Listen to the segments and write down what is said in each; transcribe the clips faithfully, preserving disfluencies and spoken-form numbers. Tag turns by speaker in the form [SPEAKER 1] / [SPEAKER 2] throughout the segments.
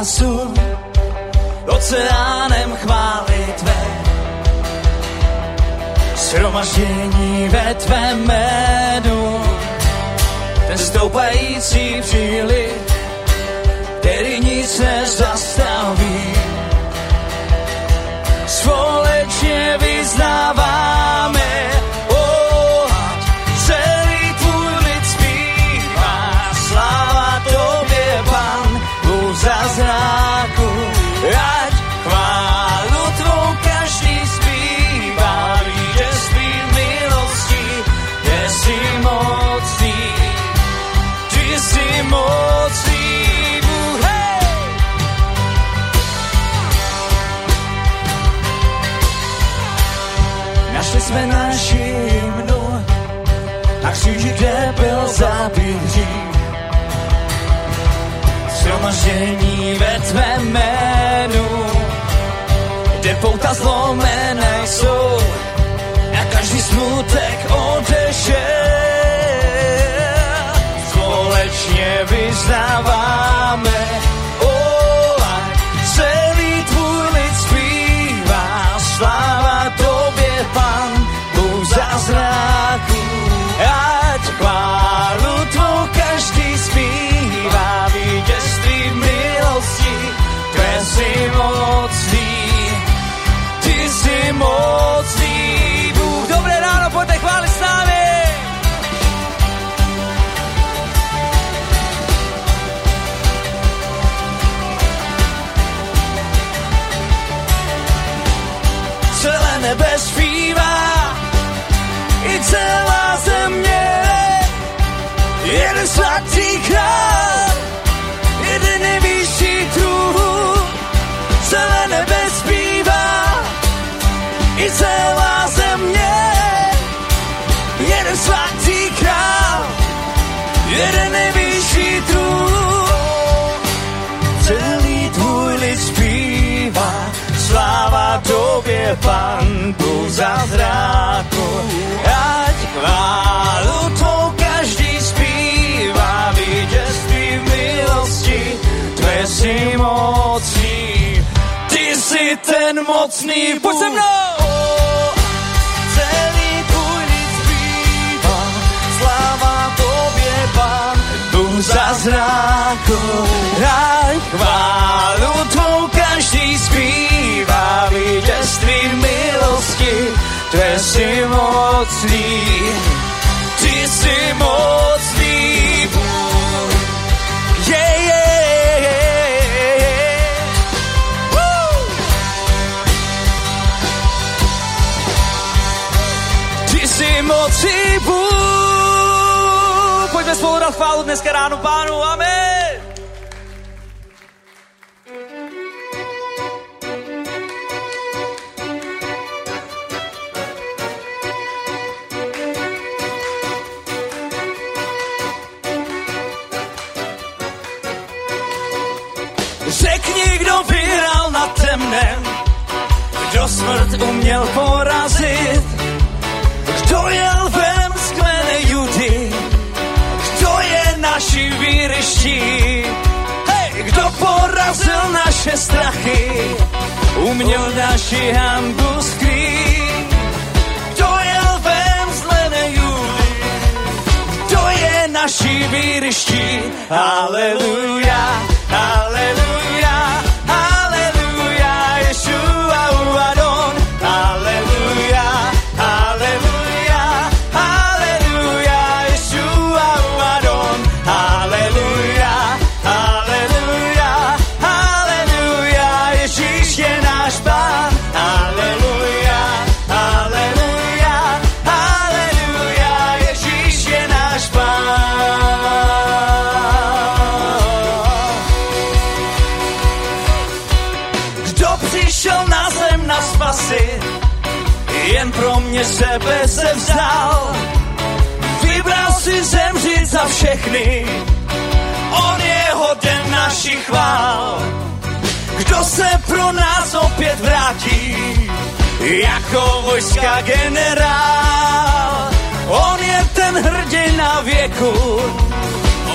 [SPEAKER 1] spásu, oceánem chvály tvé. Shromaždění ve tvém jménu, ten stoupající příliv, který nic nezastaví. Společně vyznáváme, oh, celý tvůj lid zpívá, sláva tobě, Pan, Bůh zázraku, ať chválu tvou každý zpívá, vítězství milostí, ty jsi mocný, ty jsi mocný. Našli jsme naši hymnu na kříži, kde byl zabit hřích. Shromaždění ve tvém jménu, kde pouta zlomené jsou a každý smutek odešel. Společně vyznáváme, oh, celý tvůj lid zpívá, sláva tobě, Pan, Bůh zázraku, ať chválu tvou každý zpívá, vítězství v milosti, tvé jsi mocný, ty jsi mocný, Bůh. Dobré ráno, pojďte chválit s námi. Celé nebe zpívá, i celá země, jeden svatý král, jeden nejvyšší trůn. Celé nebe zpívá, i celá země, jeden svatý král, jeden nejvyšší trůn. Celý tvůj lid zpívá, sláva tobě, Pan, Bůh zázraku, ať chválu tvou každý zpívá, vítězství v milosti, tvé jsi mocný, ty jsi ten mocný Bůh. Pojď se mnou! Celý tvůj lid zpívá, sláva tobě, Pan, Bůh zázraku, ať chválu tvou každý zpívá, vítězství v milosti, tvé jsi mocný, ty jsi mocný Bůh. Yeah, yeah, yeah, yeah. Woo! Ty jsi mocný Bůh. Pojďme spolu dát chválu dneska ráno Pánu, amen. Řekni, kdo vyhrál nad temnem, kdo smrt uměl porazit, kdo je lvem z kmene Judy, kdo je naší výryští, hej, kdo porazil naše strachy, uměl naši hanbu skrýt, kdo je lvem z kmene Judy, kdo je naší výryští, haleluja, haleluja, haleluja, Ješua Adon, haleluja, haleluja, haleluja, Ješua Adon, haleluja, haleluja, haleluja, Ježíš je náš Pán, haleluja, haleluja, haleluja, Ježíš je náš Pán. Přišel na zem na spasy, jen pro mě sebe se vzal. Vybral si zemřít za všechny, on je hoden našich chvál. Kdo se pro nás opět vrátí, jako vojska generál. On je ten hrdina věku,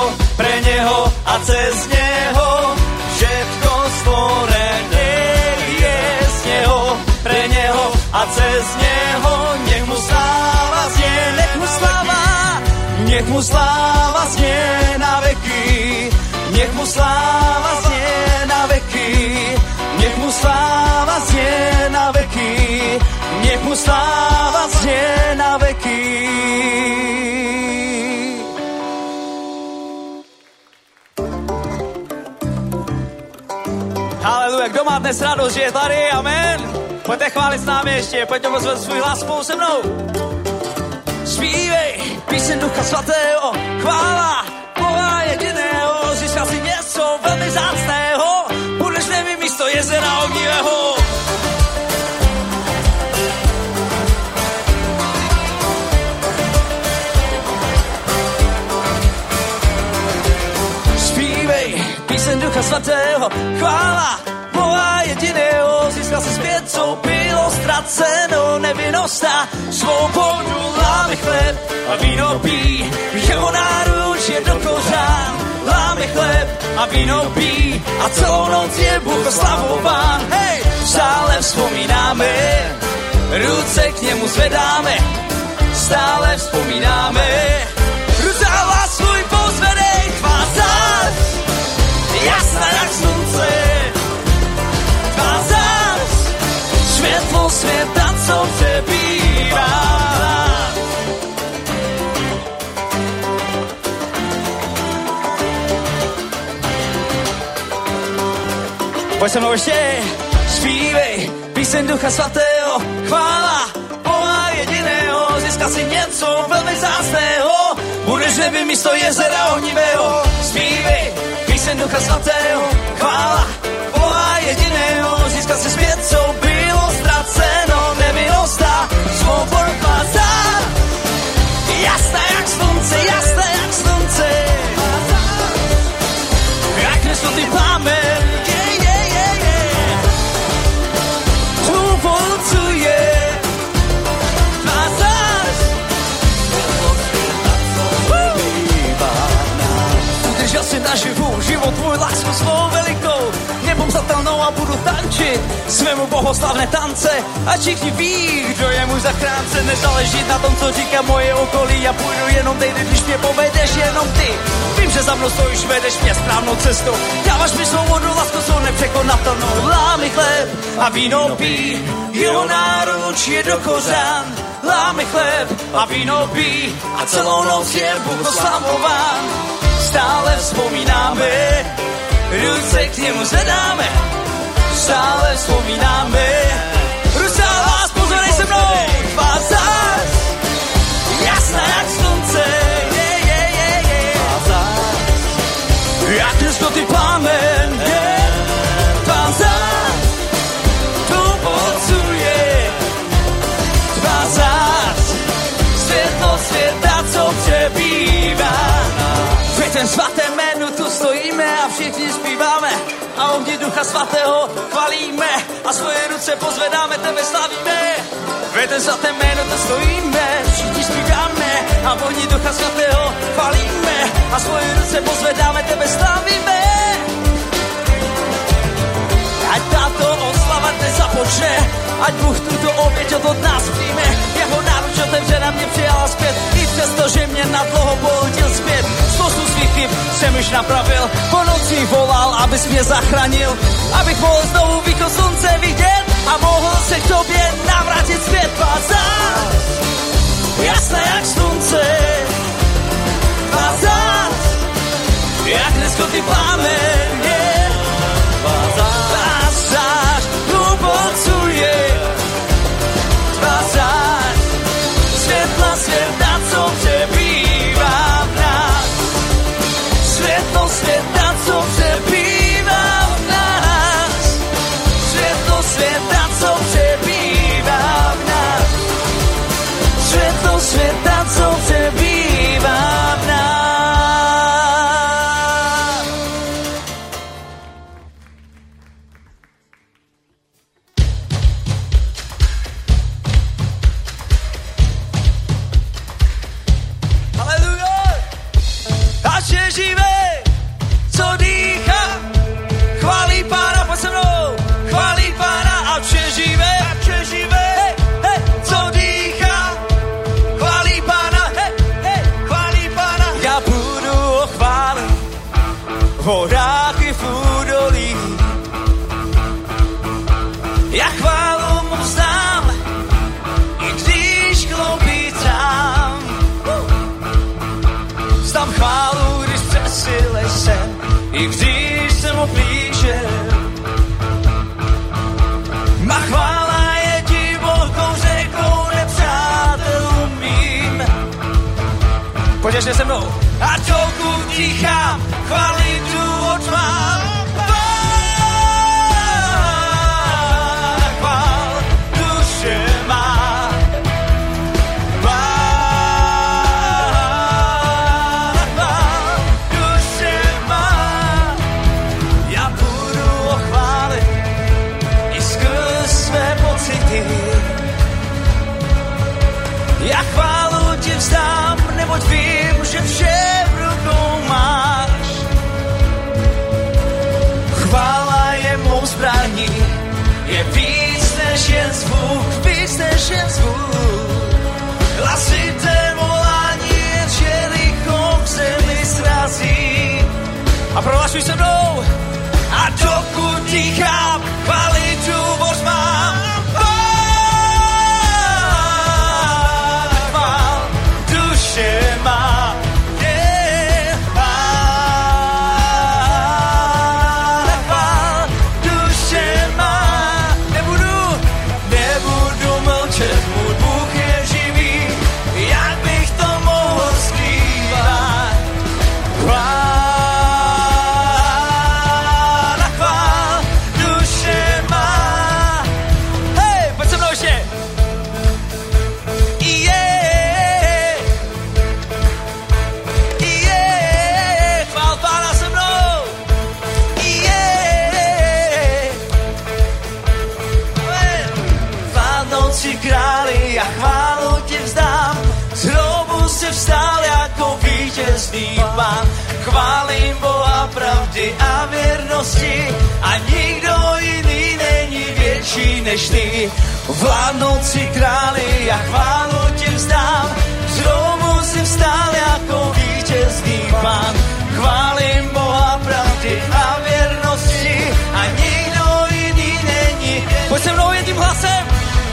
[SPEAKER 1] něho a cez něho všetko stvorené je z něho, pre něho a cez něho. Nech mu sláva znie, nech mu sláva, nech mu sláva znie na veky, nech mu sláva znie na veky, nech mu sláva znie na veky, nech mu sláva znie na veky. Haleluja, kdo má dnes radost, že je tady, amen. Pojďte chválit s námi ještě, pojďte pozvat svůj hlas spolu se mnou. Zpívej píseň Ducha Svatého, chvála Boha jediného, získal si něco velmi vzácného, budeš nevím místo jezera ohnivého. Zpívej píseň Ducha Svatého, chvála Boha jediného, získal si zpět, co bylo ztraceno, nevinnost a svobodu, láme chleb a víno pí, jeho náruč je do kořán, láme chleb a víno pí a celou noc je Bůh oslavován. Hej, stále vzpomínáme, ruce k němu zvedáme, stále vzpomínáme, ruce a hlas svůj pozvedej, tvá zář, jasná jak slunce, tvá zář, světlo světa, co přebývá. Pojď se mnou ještě, zpívej píseň Ducha Svatého, chvála Boha jediného, získal si něco velmi vzácného, budeš neby místo jezera ohnivého. Zpívej píseň Ducha Svatého, chvála Boha jediného, získal si zpět, co bylo ztraceno, nevinnost a svobodu tvá zář, jasná jak slunce, jasná jak slunce, jak nesnutý plamen, yeah, yeah, yeah, yeah. Tu polcuje tvá zář, udržel si naživu život tvůj, lásku svou velikou, nepomzatelnou a budu tančit svému bohoslavné tance a všichni ví, kdo je můj zachránce. Nezáleží na tom, co říká moje okolí, já půjdu jenom tejdy, když mě povedeš jenom ty. Vím, že za mnou stojíš, vedeš mě správnou cestou, dáváš mi svou vodu, lásku svou nepřekonatelnou. Lámy chleb a víno pí, jeho náruč je do kořán. Lámy chleb a víno pí a celou noc je Bůh oslavován. Stále vzpomínáme, ruce k němu zvedáme, stále vzpomínáme, ruce a vás, pozorej se mnou, tvá zář, jasná jak slunce, yeah, yeah, yeah, yeah. Jak nesnutý plamen, yeah. Tvá zář, tu polcuje, tvá zář, světlo světa, co přebývá. V ten svatém jménu tu stojíme a všichni zpíváme a ohni Ducha Svatého chvalíme a svoje ruce pozvedáme, tebe slavíme. V ten svatém jménu tu stojíme, všichni zpíváme a ohni Ducha Svatého chvalíme a svoje ruce pozvedáme, tebe slavíme. Ať tato oslava dnes započne, ať Bůh tuto oběť od nás přijme. Jeho náruč otevřena mě přijala zpět, i přesto, že mě na dlouho pohodil zpět. Spoustu svých chyb jsem už napravil, po noci volal, abys mě zachránil, abych mohl znovu východ slunce vidět a mohl se k tobě navrátit zpět. Tvá zář, jasná jak slunce, tvá zář, jak neskonný plámen, yeah. Tvá zář, tu polcuje, tvá zář, světla světa, co přebývá v nás. Světlo světa, co přebývá v nás. Světlo světa, co přebývá v nás. Světlo světa, co přebývá v nás. Haleluja! Ať je živý, v horách i v údolí. Já chválu mu vzdám, i když klopítám. Vzdám chválu, když přesilej jsem, i když jsem oblížen. Má chvála je divokou řekou nepřátelům mým. Pojď ještě se mnou. A dokud dýchám, chvály důvod mám. Chvál duše má. Chvál duše má. Já budu o chvále i skrz své pocity. Já chválu ti vzdám, neboť vím, že vše v rukou máš. Chvála je mou zbraní, je víc než jen zvuk, víc než jen zvuk. Hlasité volání je Jericho v zemi srazí. A prohlašuj se mnou. A dokud dýchám, chvály důvod mám. Chvál duše má. Yeah. Chvál duše má. Nebudu, nebudu mlčet, můj Bůh je živý. Jak bych to mohl skrývat? Chvál. Králi, já chválu ti vzdám, z hrobu si vstál jako vítězný pán. Chválím Boha pravdy a věrnosti a nikdo jiný není větší než ty. Vládnoucí králi, já chválu ti vzdám, z hrobu si vstál jako vítězný pán. Chválím Boha pravdy a věrnosti a nikdo jiný není. Pojď se mnou jedním hlasem.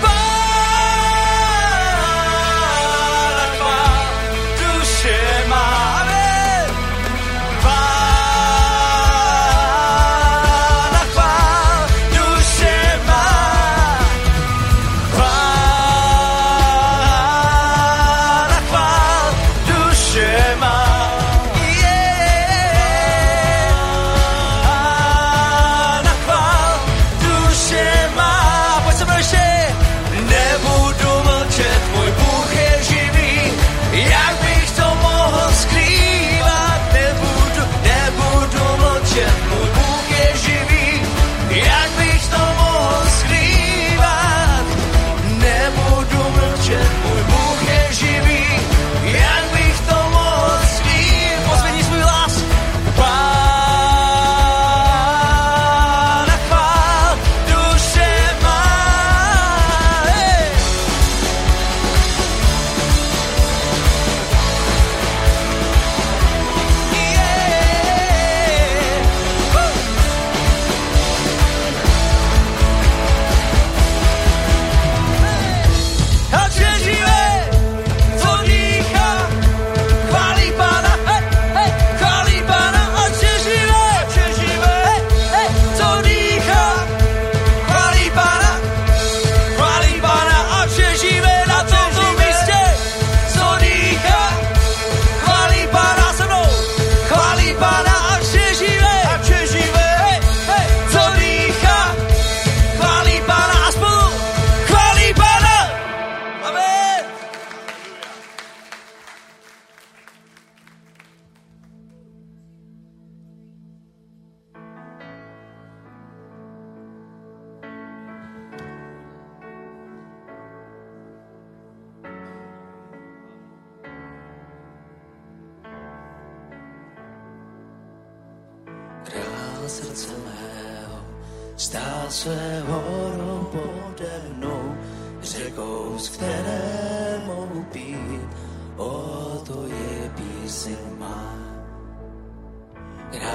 [SPEAKER 2] Srdce mého stál své horou pode mnou, řekou, z které mohu pít, o to je píseň má. Král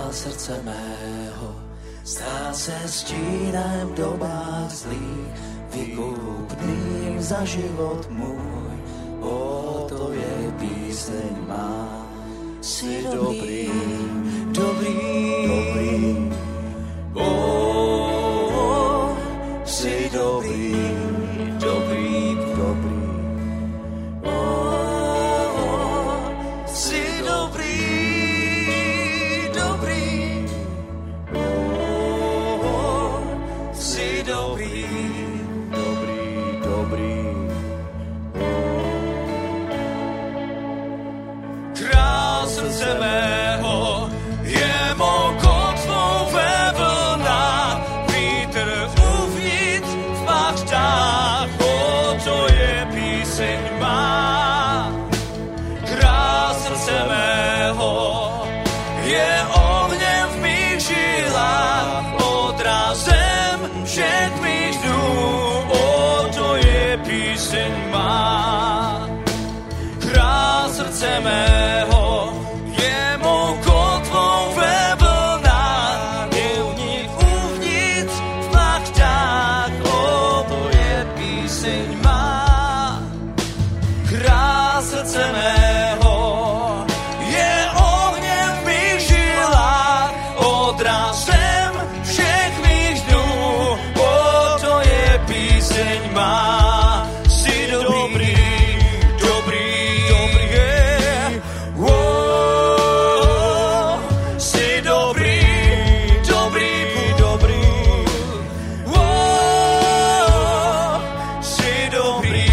[SPEAKER 2] srdce mého, stál se stínem v dobách zlých, vykupným za život můj. O, to je píseň má. Jsi dobrý, dobrý, dobrý. O, jsi dobrý, dobrý, dobrý.
[SPEAKER 1] Mého je mou kotvou ve vlnách, vítr uvnitř v bachtách, o, to je píseň má. Král srdce mého je ohněm v mých žilách, odrazem všech mých dnů, o, to je píseň má. Král srdce mého srdce mého je ohněm v mých žilách, odrazem všech mých dnů, o, to je píseň má. Jsi dobrý, dobrý, dobrý, je. O, jsi dobrý, dobrý, dobrý. O, jsi dobrý.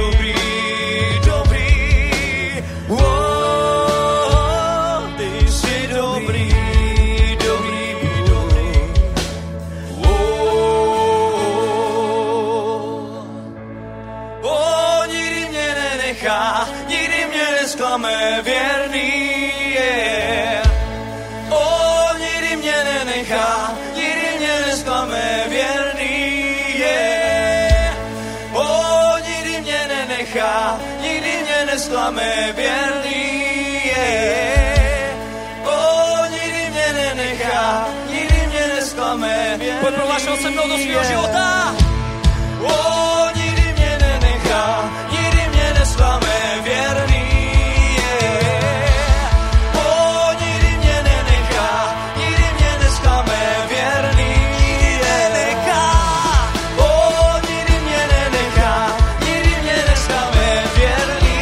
[SPEAKER 1] Nikdy mě nesklame věrný, yeah. O, nikdy mě nenechá, nikdy mě nesklame věrný, yeah. O, nikdy mě nenechá, nikdy mě nesklame věrný, yeah. O, nikdy mě nenechá, nikdy mě nesklame věrný. Pojď prohlášel se mnou do svýho života. O, nikdy mě nenechá, nikdy mě nesklame věrný, yeah. O, nikdy mě nenechá, nikdy mě nesklame věrný, yeah. O, nikdy mě nenechá, nikdy mě nesklame věrný,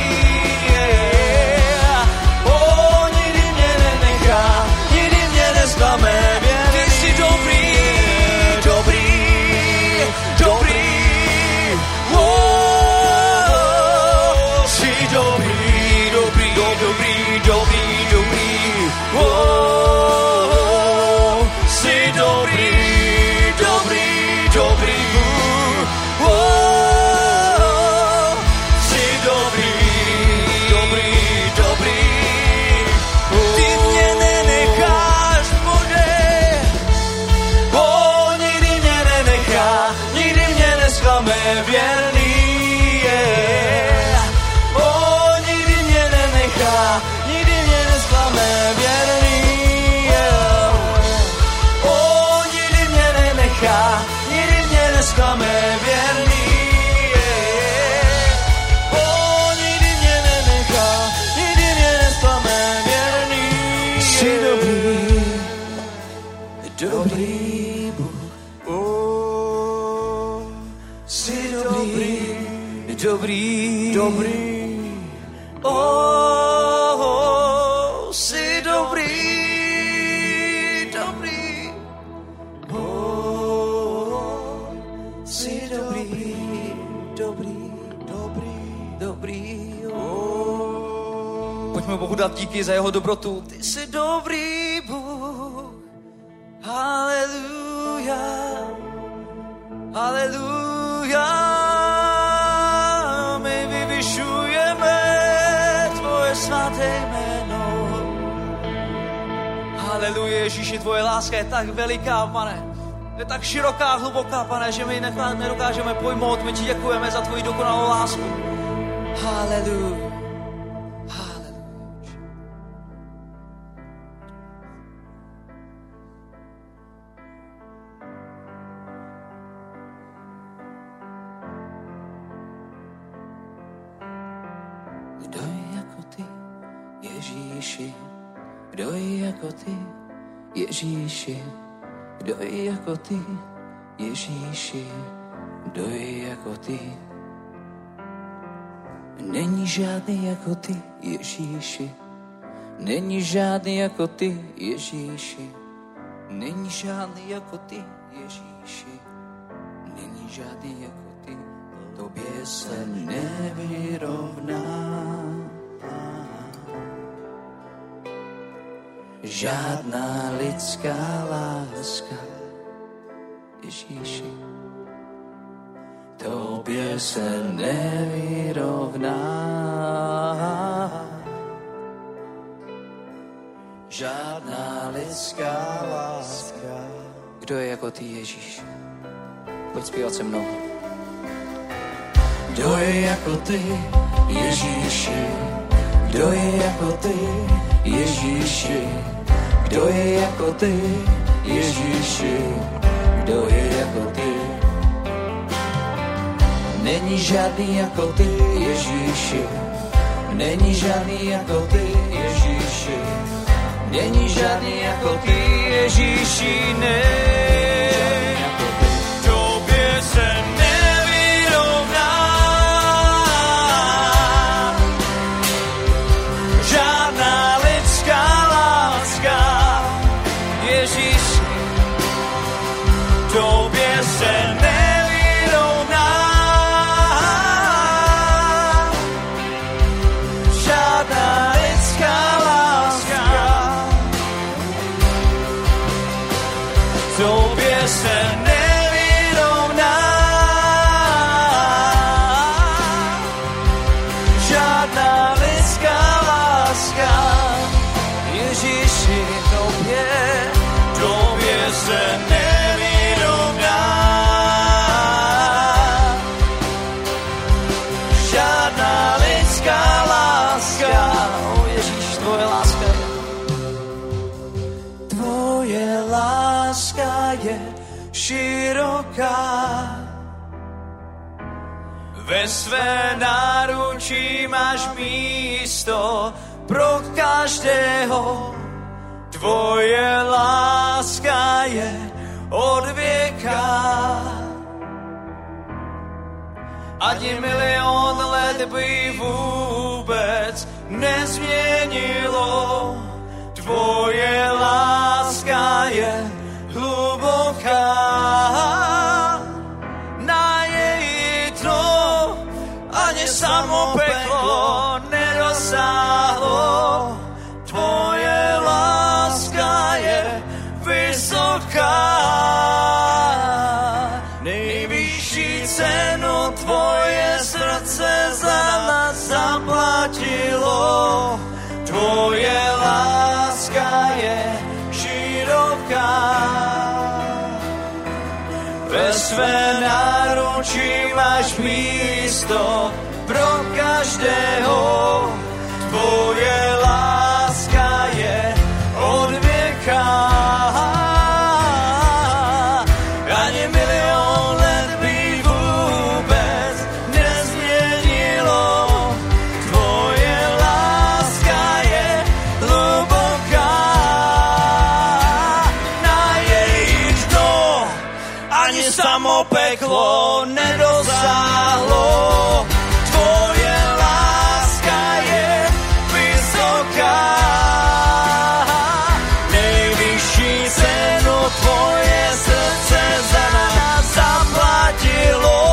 [SPEAKER 1] yeah. O, nikdy mě nenechá, nikdy mě nesklame věrný. Ty jsi dobrý, dobrý, dobrý. Dobrý, dobrý, dobrý, dobrý, dobrý, oh, oh, jsi dobrý, dobrý, dobrý, oh, oh, jsi dobrý, dobrý, dobrý, oh, ty mě nenecháš v bodě, oh, nikdy mě nenechá, nikdy mě nesklame věrný, nikdy mě nesklame věrný, yeah. O, nikdy mě nenechá, nikdy mě nesklame věrný, yeah. O, nikdy mě nenechá, nikdy mě nesklame věrný, yeah. Jsi dobrý, dobrý Bůh, oh, jsi dobrý, dobrý, dobrý, oh. Jsi dobrý, dobrý, oh, jsi dobrý, dobrý, dobrý, dobrý, oh. Pojďme Bohu dát díky za jeho dobrotu. Ty jsi dobrý Bůh, haleluja, haleluja. My vyvyšujeme tvoje svaté jméno. Haleluja, Ježíši, tvoje láska je tak veliká, pane. Je tak široká, hluboká, pane, že my nedokážeme pojmout. My ti děkujeme za tvoji dokonalou lásku. Haleluja. Haleluja.
[SPEAKER 2] Kdo je jako ty, Ježíši? Kdo je jako ty, Ježíši? Kdo je jako ty, Ježíši? Kdo je jako ty? Není žádný jako ty, Ježíši. Není žádný jako ty, Ježíši. Není žádný jako ty, Ježíši. Není žádný jako ty, tobě se nevyrovná. Žádná lidská láska, Ježíši, tobě se nevyrovná. Žádná lidská láska. Kdo je jako ty, Ježíš? Pojď zpívat se mnou. Kdo je jako ty, Ježíši? Kdo je jako ty, Ježíši? Kdo je jako ty, Ježíši? Kdo je jako ty? Není žádný jako ty, Ježíši. Není žádný jako ty, Ježíši. Není žádný jako ty, Ježíši, ne. Tobě se nevyrovná. Žádná lidská láska, Ježíši, tobě se nevyrovná. Žádná lidská láska, tobě se nevyrovná. Žádná lidská láska, Ježíši, tobě, tobě se nevyrovná. Žádná lidská láska, o Ježíš, tvoje láska je. Tvoje láska je široká, ve své náručí máš místo pro každého. Tvoje láska je od věka. Ani milion let by vůbec nezměnilo. Tvoje láska je hluboká. Na její dno ani samo peklo nedosáhlo. Tvoje láska je vysoká. Nejvyšší cenu tvoje srdce za nás zaplatilo. Tvoje láska je široká. Ve své náručí máš místo pro každého. Tvoje láska je od věka. Ani milion let by vůbec nezměnilo. Tvoje láska je hluboká. Na její dno ani samo peklo nedosáhlo. Tvoje láska je vysoká. Nejvyšší cenu tvoje srdce za nás zaplatilo.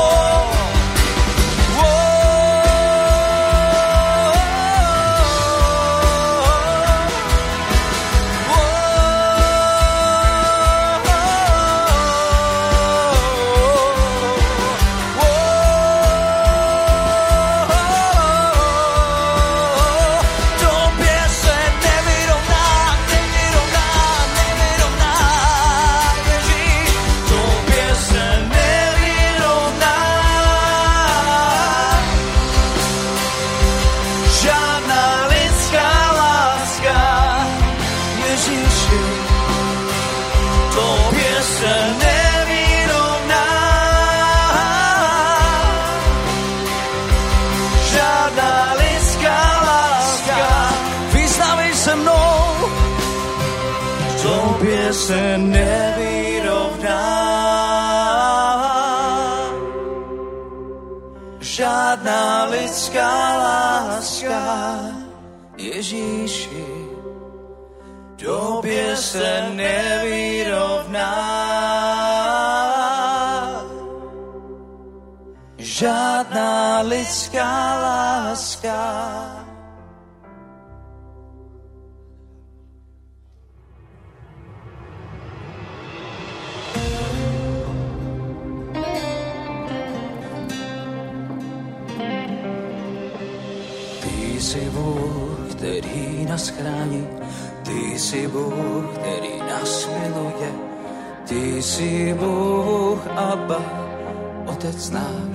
[SPEAKER 1] se nevyrovná. Žádná lidská láska, Ježíši, tobě se nevyrovná. Žádná lidská láska. Ty jsi Bůh, který nás chrání, ty jsi Bůh, který nás miluje, ty jsi Bůh, Abba, Otec náš.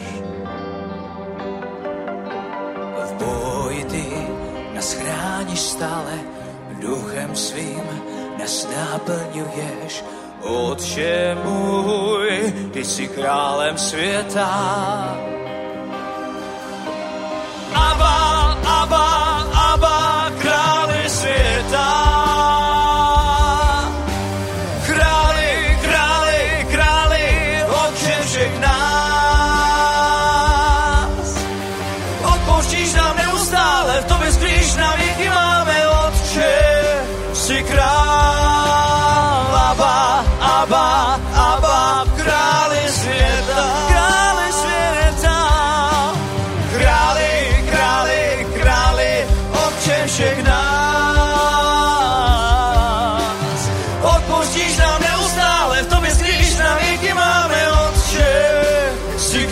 [SPEAKER 1] V boji ty nás chráníš stále, duchem svým nás naplňuješ. Otče můj, ty jsi králem světa. Abba, Abba, Abba, králi světa. Králi, králi, králi, Otče všech nás. Odpouštíš nám neustále, v tobě skrýš na věky máme, Otče, jsi král. Abba, Abba, Abba, králi světa. Králi světa. Králi, králi, králi, Otče všech nás. Odpouštíš nám neustále, v tobě skrýš na věky máme, Otče, jsi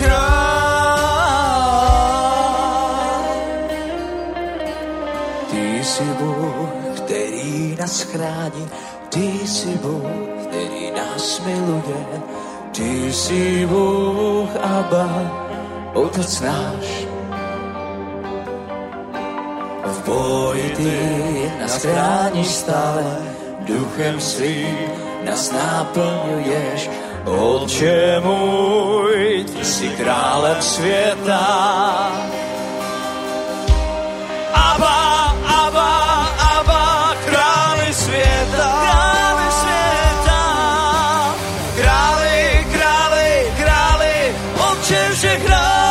[SPEAKER 1] král. Ty jsi Bůh, který nás chrání, ty jsi Bůh, který nás miluje, ty jsi Bůh, Abba, Otec náš. V boji ty nás chráníš stále, duchem svým nás naplňuješ. Otče můj, ty jsi králem světa. Abba, Abba, Abba, králi světa. Králi světa. Králi, králi, králi, Otče všech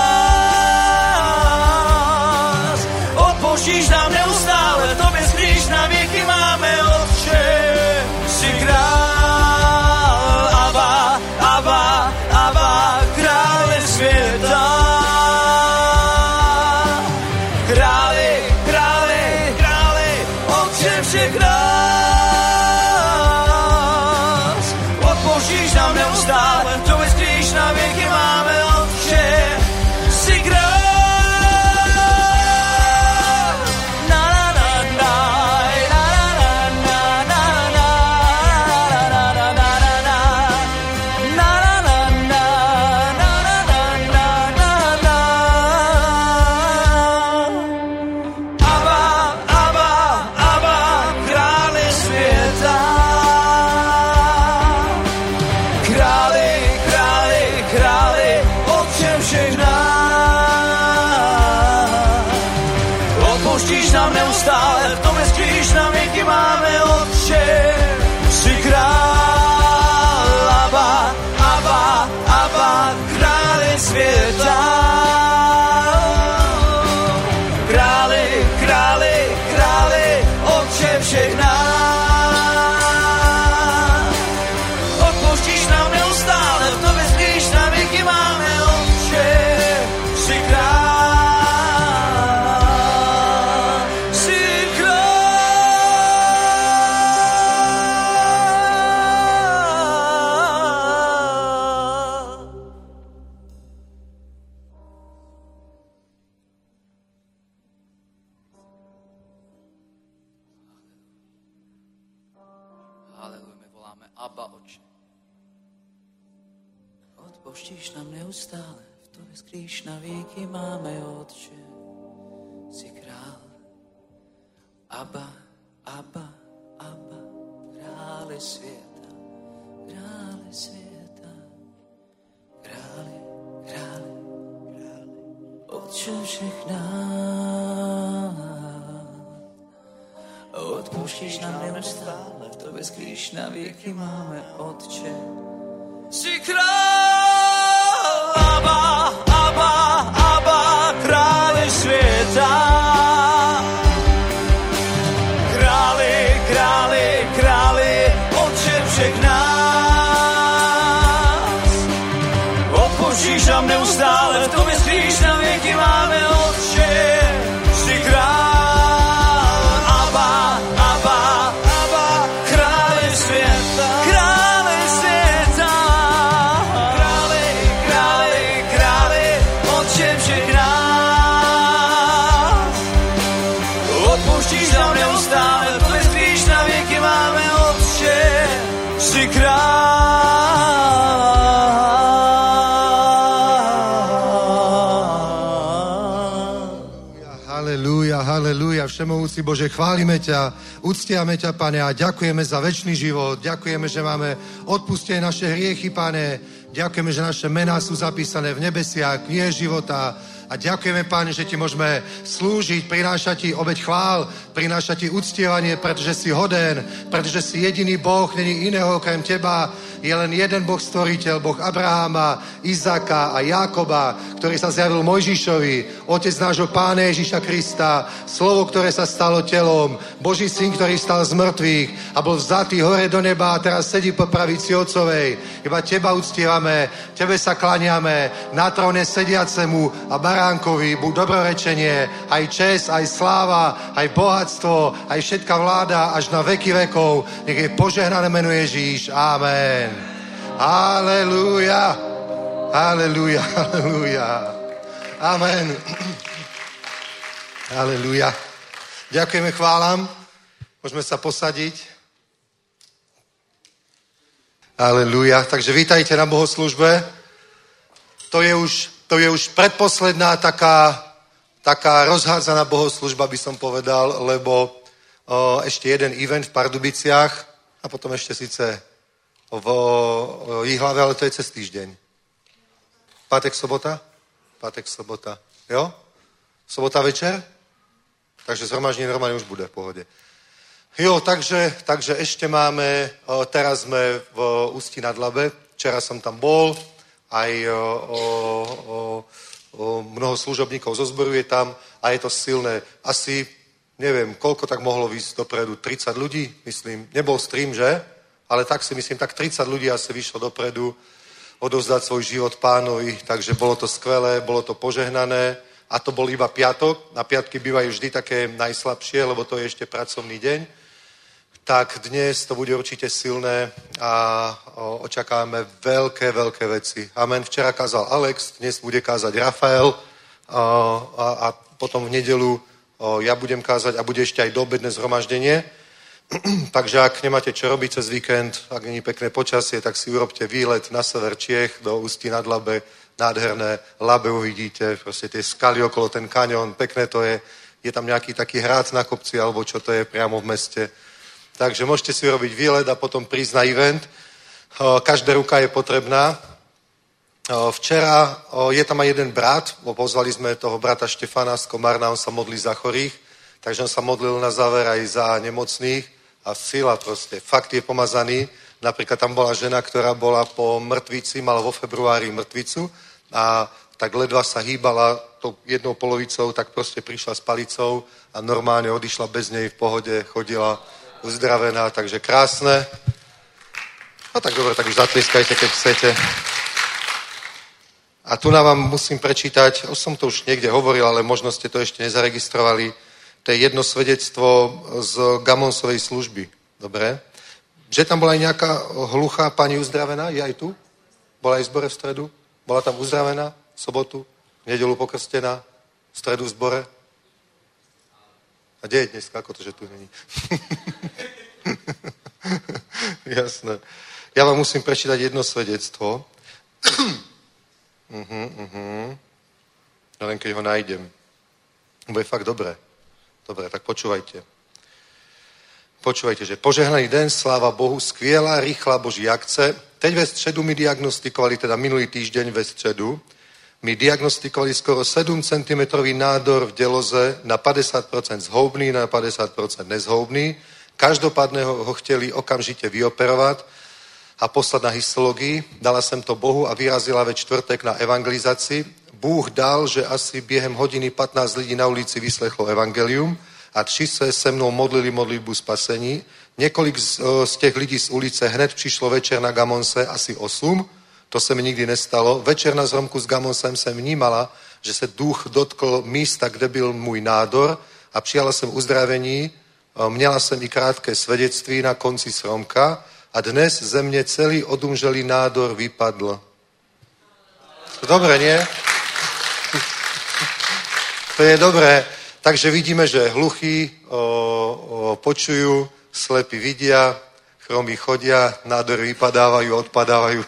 [SPEAKER 1] nás. Odpouštíš nám neustále, v tobě skrýš na věky máme, Otče, jsi král. Abba, Abba, Abba, králi světa. Králi, králi, králi, Otče všech nás. Odpouštíš nám neustále, v tobě skrýš na věky máme, Otče, jsi král. Odpouštíš nám neustále, v tobě skrýš na věky máme, Otče, jsi král. Abba, Abba, Abba, králi světa. Králi, králi, králi, Otče všech nás. Odpouštíš nám neustále, v tobě skrýš na věky máme, Otče, jsi král. Haleluja, my voláme Abba, Otče. Odpouštíš nám neustále, v tobě skrýš na věky máme, Otče, jsi král. Abba, Abba, Abba, králi světa, králi světa, králi, králi, králi, Otče všech nás. Odpouštíš
[SPEAKER 2] odpouštíš nám neustále, v tobě skrýš na věky máme, Otče. Jsi král, Abba, Abba, Abba, králi světa. Králi, králi, králi, Otče všech nás. Odpouštíš nám neustále, v tobě skrýš na věky máme, Otče. Jsi král.
[SPEAKER 3] Halelúja, všemohúci Bože, chválime ťa, uctiame ťa, Pane, a ďakujeme za večný život. Ďakujeme, že máme odpustené naše hriechy, Pane. Ďakujeme, že naše mená sú zapísané v nebesiach, knihe života. A ďakujeme, Pane, že ti môžeme slúžiť, prinášať ti obeť chvál, prinášať ti uctievanie, pretože si hoden, pretože si jediný Boh, není iného okrem teba. Je len jeden Boh stvoriteľ, Boh Abraháma, Izáka a Jákoba, ktorý sa zjavil Mojžišovi, otec nášho Pána Ježiša Krista, slovo, ktoré sa stalo telom, Boží syn, ktorý stal z mŕtvych a bol vzatý hore do neba a teraz sedí po pravici Otcovej. Iba teba uctievame, tebe sa klaniame, na tróne sediacemu a baránkovi buď dobrorečenie, aj čest, aj sláva, aj bohatstvo, aj všetká vláda až na veky vekov. Nech je požehnané meno Ježíš. Amen. Halelúja. Halelúja. Halelúja. Amen. Halelúja. Ďakujeme, chválam. Môžeme sa posadiť. Halelúja. Takže vítajte na bohoslužbe. To je už, to je už predposledná taká, taká rozhádzaná bohoslužba, by som povedal, lebo o, ešte jeden event v Pardubiciach a potom ešte síce v Jihlave, ale to je cez týždeň. Pátek, sobota? Pátek, sobota. Jo? Sobota večer? Takže zhromaždenie normálne už bude v pohode. Jo, takže, takže ešte máme, teraz sme v Ústí nad Labe, včera som tam bol, aj o, o, o, mnoho služobníkov zo zboru je tam a je to silné. Asi, neviem, koľko tak mohlo výsť dopredu, tridsať ľudí, myslím. Nebol stream, že? Ale tak si myslím, tak tridsať ľudí asi vyšlo dopredu odovzdať svoj život Pánovi, takže bolo to skvelé, bolo to požehnané a to bol iba piatok. Na piatky bývajú vždy také najslabšie, lebo to je ešte pracovný deň. Tak dnes to bude určite silné a očakávame veľké, veľké veci. Amen. Včera kázal Alex, dnes bude kázať Rafael a, a, a potom v nedelu ja budem kázať a bude ešte aj doobedné zhromaždenie. Takže ak nemáte čo robiť cez víkend, ak není pekné počasie, tak si urobte výlet na sever Čiech do Ústí nad Labe, nádherné Labe uvidíte, proste tie skaly okolo, ten kaňon, pekné to je, je tam nejaký taký hrad na kopci, alebo čo to je priamo v meste. Takže môžete si urobiť výlet a potom prísť na event. Každá ruka je potrebná. Včera je tam aj jeden brat, pozvali sme toho brata Štefana z Komárna, on sa modlí za chorých, takže on sa modlil na záver aj za nemocných a sila proste, fakt je pomazaný. Napríklad tam bola žena, ktorá bola po mŕtvici, mala vo februári mŕtvicu a tak ledva sa hýbala tou jednou polovicou, tak proste prišla s palicou a normálne odišla bez nej v pohode, chodila uzdravená, takže krásne. No tak dobre, tak už zatliskajte, keď chcete. A tu nám vám musím prečítať, už som to už niekde hovoril, ale možno ste to ešte nezaregistrovali, to je jedno svedectvo z Gamonsovej služby. Dobre? Že tam bola aj nejaká hluchá pani uzdravená? Je aj tu? Bola aj v zbore v stredu? Bola tam uzdravená v sobotu? V nedeľu pokrstená? V stredu v zbore? A kde je dneska? Ako to, že tu není? Jasné. Ja vám musím prečítať jedno svedectvo. uh-huh, uh-huh. Len keď ho nájdem. Bude fakt dobré. Dobre, tak počúvajte. Počúvajte, že požehnaný den, sláva Bohu, skvělá, rýchla Boží akce. Teď ve středu mi diagnostikovali, teda minulý týždeň ve středu, mi diagnostikovali skoro sedm centimetrov nádor v děloze na padesát procent zhoubný, na padesát procent nezhoubný. Každopádne ho, ho chtěli okamžite vyoperovať a poslať na histologii. Dala jsem to Bohu a vyrazila ve čtvrtek na evangelizaci. Bůh dal, že asi během hodiny patnáct lidí na ulici vyslechlo evangelium a tři se se mnou modlili modlitbu spasení. Několik z, z těch lidí z ulice hned přišlo večer na Gamonse, asi osm. To se mi nikdy nestalo. Večer na zhromku s Gamonsem jsem vnímala, že se duch dotkl místa, kde byl můj nádor a přijala jsem uzdravení. Měla jsem i krátké svedectví na konci shromka a dnes ze mě celý odumřelý nádor vypadl. Dobre, nie? To je dobré. Takže vidíme, že hluchí o, o, počujú, slepí vidia, chromí chodia, nádory vypadávajú, odpadávajú.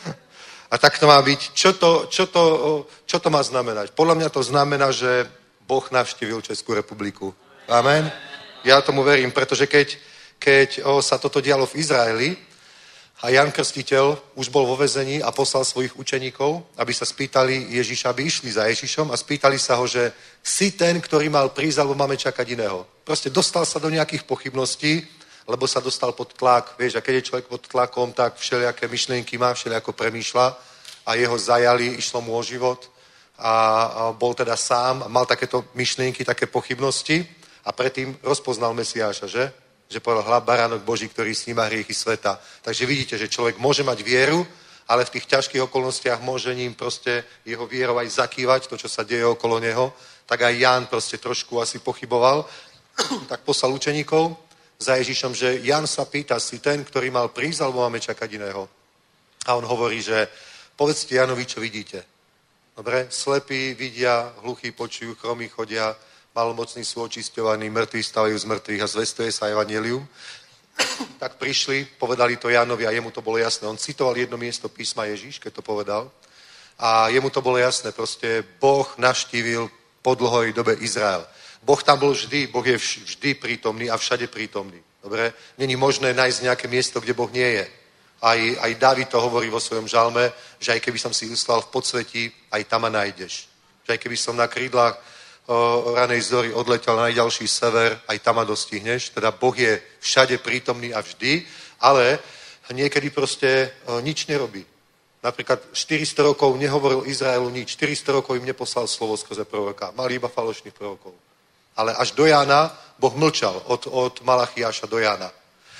[SPEAKER 3] A tak to má byť. Čo to, čo to, čo to má znamenať? Podľa mňa to znamená, že Boh navštívil Českú republiku. Amen. Ja tomu verím, pretože keď, keď o, sa toto dialo v Izraeli a Jan Krstiteľ už bol vo väzení a poslal svojich učeníkov, aby sa spýtali Ježiša, aby išli za Ježišom a spýtali sa ho, že si ten, ktorý mal prísť, alebo máme čakať iného. Proste dostal sa do nejakých pochybností, lebo sa dostal pod tlak. Vieš, a keď je človek pod tlakom, tak všelijaké myšlienky má, všelijako premýšľa a jeho zajali, išlo mu o život a, a bol teda sám a mal takéto myšlienky, také pochybnosti a predtým rozpoznal Mesiáša, že? Že povedal hľa baránok Boží, ktorý sníma hriechy sveta. Takže vidíte, že človek môže mať vieru, ale v tých ťažkých okolnostiach môže ním proste jeho vierou aj zakývať to, čo sa deje okolo neho. Tak aj Ján proste trošku asi pochyboval. Tak poslal učeníkov za Ježišom, že Jan sa pýta, si ten, ktorý mal prísť, alebo máme čakať iného. A on hovorí, že povedzte Janovi, čo vidíte. Dobre? Slepí vidia, hluchí počujú, chromí chodia, malomocní sú očisťovaní, mŕtvi stavajú z mŕtvych a zvestuje sa evanjelium. Tak prišli, povedali to Jánovi a jemu to bolo jasné. On citoval jedno miesto písma Ježíš, keď to povedal. A jemu to bolo jasné. Proste Boh navštívil po dlhoj dobe Izrael. Boh tam bol vždy, Boh je vždy prítomný a všade prítomný. Dobre? Není možné nájsť nejaké miesto, kde Boh nie je. Aj, aj Dávid to hovorí vo svojom žalme, že aj keby som si uslal v podsvetí, aj tam ma nájdeš. Že aj keby som na krídlach o ranej zory odletel na najďalší sever, aj tam ma dostihneš. Teda Boh je všade prítomný a vždy, ale niekedy proste o, nič nerobí. Napríklad štyristo rokov nehovoril Izraelu nič. štyristo rokov im neposlal slovo skrze proroka. Mali iba falošných prorokov. Ale až do Jána Boh mlčal od, od Malachiáša do Jána.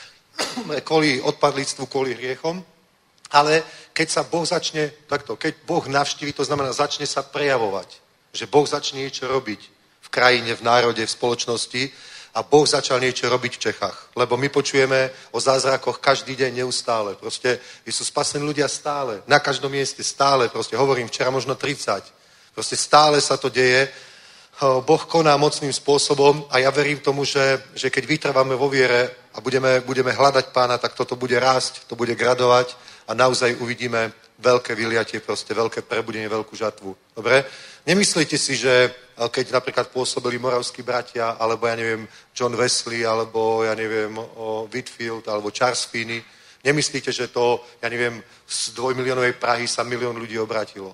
[SPEAKER 3] Kvôli odpadlíctvu, kvôli hriechom. Ale keď sa Boh začne, takto, keď Boh navštíví, to znamená, začne sa prejavovať. Že Boh začne niečo robiť v krajine, v národe, v spoločnosti a Boh začal niečo robiť v Čechách. Lebo my počujeme o zázrakoch každý deň neustále. Proste sú spasení ľudia stále. Na každom mieste stále. Proste hovorím, včera možno tridsať. Proste stále sa to deje. Boh koná mocným spôsobom a ja verím tomu, že, že keď vytrváme vo viere a budeme, budeme hľadať Pána, tak toto bude rásť, to bude gradovať a naozaj uvidíme veľké vyliatie, proste veľké prebudenie, veľkú žatvu. Dobre? Nemyslíte si, že keď napríklad pôsobili moravskí bratia, alebo ja neviem, John Wesley, alebo ja neviem, Whitfield, alebo Charles Finney, nemyslíte, že to, ja neviem, z dvojmiliónovej Prahy sa milión ľudí obrátilo?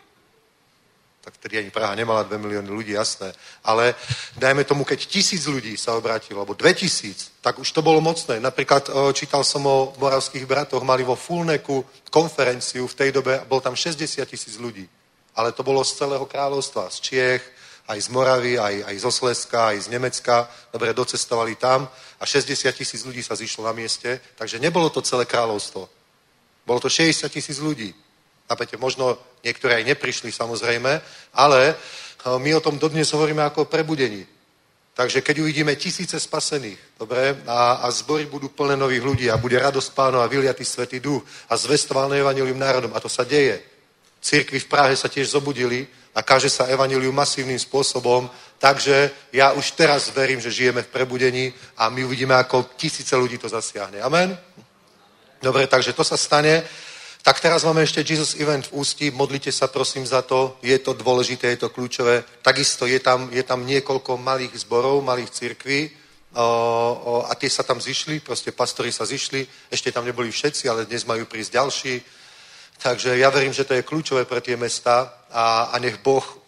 [SPEAKER 3] Tak vtedy ani Praha nemala dve milióny ľudí, jasné. Ale dajme tomu, keď tisíc ľudí sa obrátilo, alebo dve tisíc, tak už to bolo mocné. Napríklad čítal som o moravských bratoch, mali vo Fulneku konferenciu v tej dobe, bol tam šesťdesiat tisíc ľudí. Ale to bolo z celého kráľovstva, z Čiech, aj z Moravy, aj, aj zo Slezska, aj z Nemecka. Dobre, docestovali tam a šesťdesiat tisíc ľudí sa zišlo na mieste, takže nebolo to celé kráľovstvo. Bolo to šesťdesiat tisíc ľudí. Napäte, možno niektorí aj neprišli, samozrejme, ale my o tom dodnes hovoríme ako o prebudení. Takže keď uvidíme tisíce spasených, dobre, a, a zbory budú plné nových ľudí a bude radosť Pánov a vyliatý Svätý Duch a zvestované evanjelium národom, a to sa deje. Cirkvi v Prahe sa tiež zobudili a káže sa evanjelium masívnym spôsobom, takže ja už teraz verím, že žijeme v prebudení a my uvidíme, ako tisíce ľudí to zasiahne. Amen? Dobre, takže to sa stane. Tak teraz máme ešte Jesus Event v Ústí, modlite sa prosím za to, je to dôležité, je to kľúčové. Takisto je tam, je tam niekoľko malých zborov, malých cirkví o, o, a tie sa tam zišli, proste pastori sa zišli, ešte tam neboli všetci, ale dnes majú prísť ďalší. Takže ja verím, že to je kľúčové pre tie mesta a, a nech Boh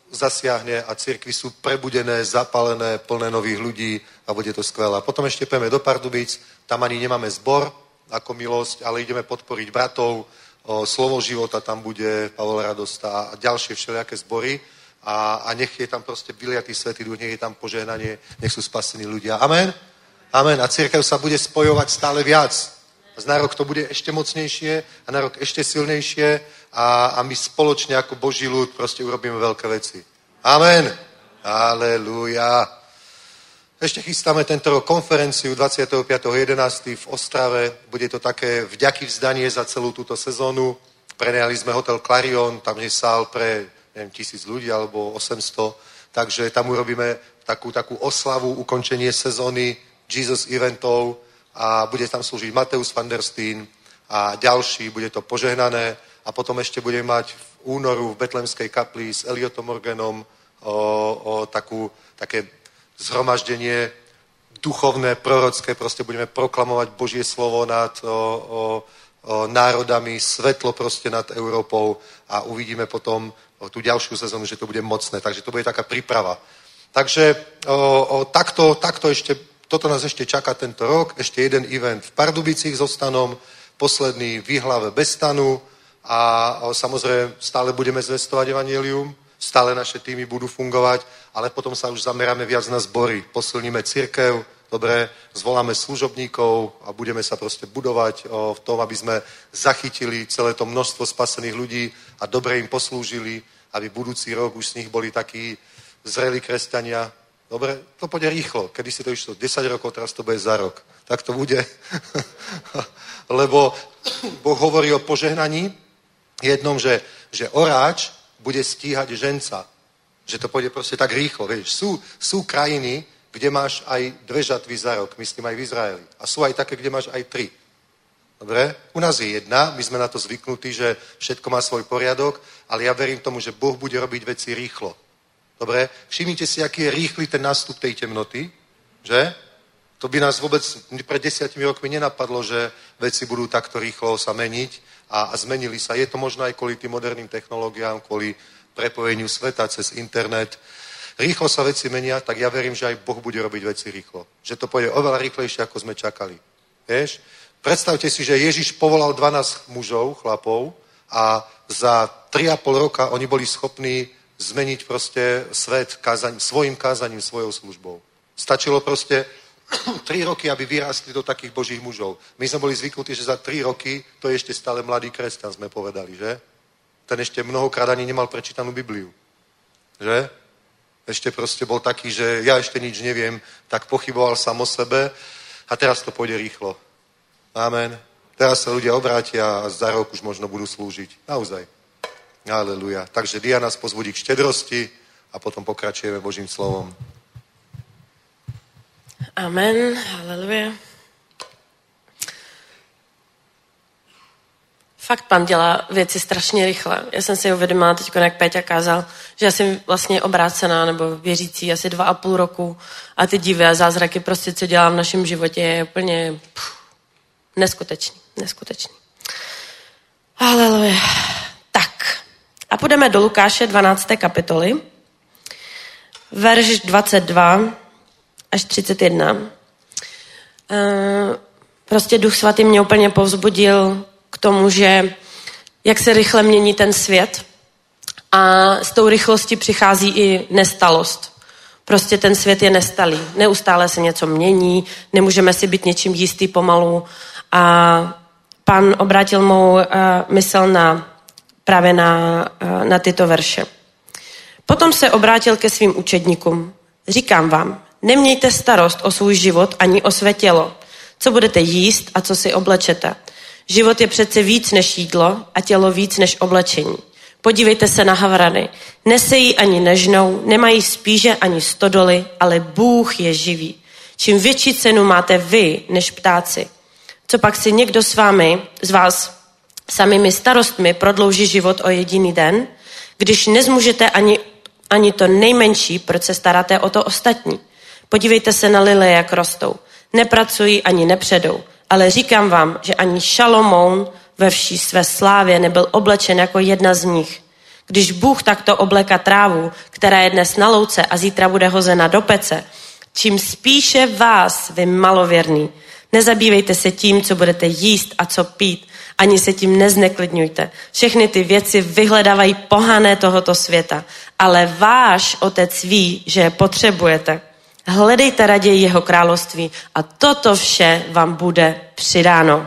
[SPEAKER 3] zasiahne a cirkvi sú prebudené, zapalené, plné nových ľudí a bude to skvelé. A potom ešte pôjdeme do Pardubic, tam ani nemáme zbor ako Milosť, ale ideme podporiť bratov, o, Slovo života tam bude, Pavol Radosta a ďalšie všelijaké zbory a, a nech je tam proste vyliatý Svätý Duch, nech je tam požehnanie, nech sú spasení ľudia. Amen? Amen. A cirkev sa bude spojovať stále viac. A na rok to bude ešte mocnejšie a na rok ešte silnejšie a, a my spoločne ako Boží ľud proste urobíme veľké veci. Amen. Aleluja. Ešte chystáme tento rok konferenciu dvadsiateho piateho jedenásteho v Ostrave. Bude to také vďaky vzdanie za celú túto sezónu. Prenajali sme hotel Clarion, tam je sál pre neviem, tisíc ľudí alebo osemsto. Takže tam urobíme takú, takú oslavu, ukončenie sezóny Jesus eventov a bude tam slúžiť Mateus van der Steen a ďalší, bude to požehnané a potom ešte budeme mať v únoru v Betlemskej kapli s Eliotom Morganom o, o takú, také zhromaždenie duchovné, prorocké, proste budeme proklamovať Božie slovo nad o, o, o národami, svetlo proste nad Európou a uvidíme potom o tú ďalšiu sezónu, že to bude mocné, takže to bude taká príprava. Takže o, o, takto, takto ešte, toto nás ešte čaká tento rok, ešte jeden event v Pardubicích so Stanom, posledný v Jihlave bez Stanu a o, samozrejme stále budeme zvestovať evanjelium, stále naše týmy budú fungovať, ale potom sa už zameráme viac na zbory, posilníme cirkev, dobre, zvoláme služobníkov a budeme sa proste budovať o, v tom, aby sme zachytili celé to množstvo spasených ľudí a dobre im poslúžili, aby budúci rok už z nich boli takí zrelí kresťania. Dobre, to pôjde rýchlo. Kedy si to išlo desať rokov, teraz to bude za rok. Tak to bude. Lebo Boh hovorí o požehnaní jednom, že, že oráč bude stíhať ženca. Že to pôjde proste tak rýchlo. Vieš, sú, sú krajiny, kde máš aj dve žatvy za rok, myslím aj v Izraeli. A sú aj také, kde máš aj tri. Dobre? U nás je jedna, my sme na to zvyknutí, že všetko má svoj poriadok, ale ja verím tomu, že Boh bude robiť veci rýchlo. Dobre? Všimnite si, aký je rýchly ten nástup tej temnoty, že? To by nás vôbec pred desiatimi rokmi nenapadlo, že veci budú takto rýchlo sa meniť a, a zmenili sa. Je to možno aj kvôli tým moderným technológiám, kvôli prepojeniu sveta cez internet. Rýchlo sa veci menia, tak ja verím, že aj Boh bude robiť veci rýchlo. Že to pôjde oveľa rýchlejšie, ako sme čakali. Vieš? Predstavte si, že Ježiš povolal dvanásť mužov, chlapov a za tri a pol roka oni boli schopní zmeniť proste svet kázaním, svojim kázaním, svojou službou. Stačilo proste tri roky, aby vyrástli do takých božích mužov. My sme boli zvyknutí, že za tri roky to je ešte stále mladý kresťan, sme povedali, že? Ten ešte mnohokrát ani nemal prečítanú Bibliu. Že? Ešte proste bol taký, že ja ešte nič neviem, tak pochyboval sám o sebe a teraz to pôjde rýchlo. Amen. Teraz sa ľudia obrátia a za rok už možno budú slúžiť. Naozaj. Aleluja. Takže Dia nás pozbudí k štedrosti a potom pokračujeme Božím slovom.
[SPEAKER 4] Amen. Aleluja. Fakt Pan dělá věci strašně rychle. Já jsem si uvědomila teď, jak Péťa kázal, že já jsem vlastně obrácená nebo věřící asi dva a půl roku a ty divy a zázraky prostě, co dělám v našem životě, je úplně pff, neskutečný, neskutečný. Haleluja. Tak, a půjdeme do Lukáše dvanácté kapitoly, verš dvacet dva až třicet jedna. Prostě Duch Svatý mě úplně povzbudil k tomu, že jak se rychle mění ten svět a s tou rychlostí přichází i nestalost. Prostě ten svět je nestalý. Neustále se něco mění, nemůžeme si být něčím jistý pomalu a Pan obrátil mou uh, mysl na, právě na, uh, na tyto verše. Potom se obrátil ke svým učedníkům. Říkám vám, nemějte starost o svůj život ani o své tělo. Co budete jíst a co si oblečete. Život je přece víc než jídlo a tělo víc než oblečení. Podívejte se na havrany. Nesejí ani nežnou, nemají spíže ani stodoly, ale Bůh je živý. Čím větší cenu máte vy než ptáci. Co pak si někdo s vámi, z vás samými starostmi prodlouží život o jediný den, když nezmůžete ani, ani to nejmenší, proč se staráte o to ostatní. Podívejte se na lilie, jak rostou. Nepracují ani nepředou. Ale říkám vám, že ani Šalomoun ve vší své slávě nebyl oblečen jako jedna z nich. Když Bůh takto obléká trávu, která je dnes na louce a zítra bude hozena do pece, čím spíše vás, vy malověrný, nezabývejte se tím, co budete jíst a co pít, ani se tím nezneklidňujte. Všechny ty věci vyhledávají pohané tohoto světa, ale váš Otec ví, že je potřebujete. Hledejte raději jeho království a toto vše vám bude přidáno.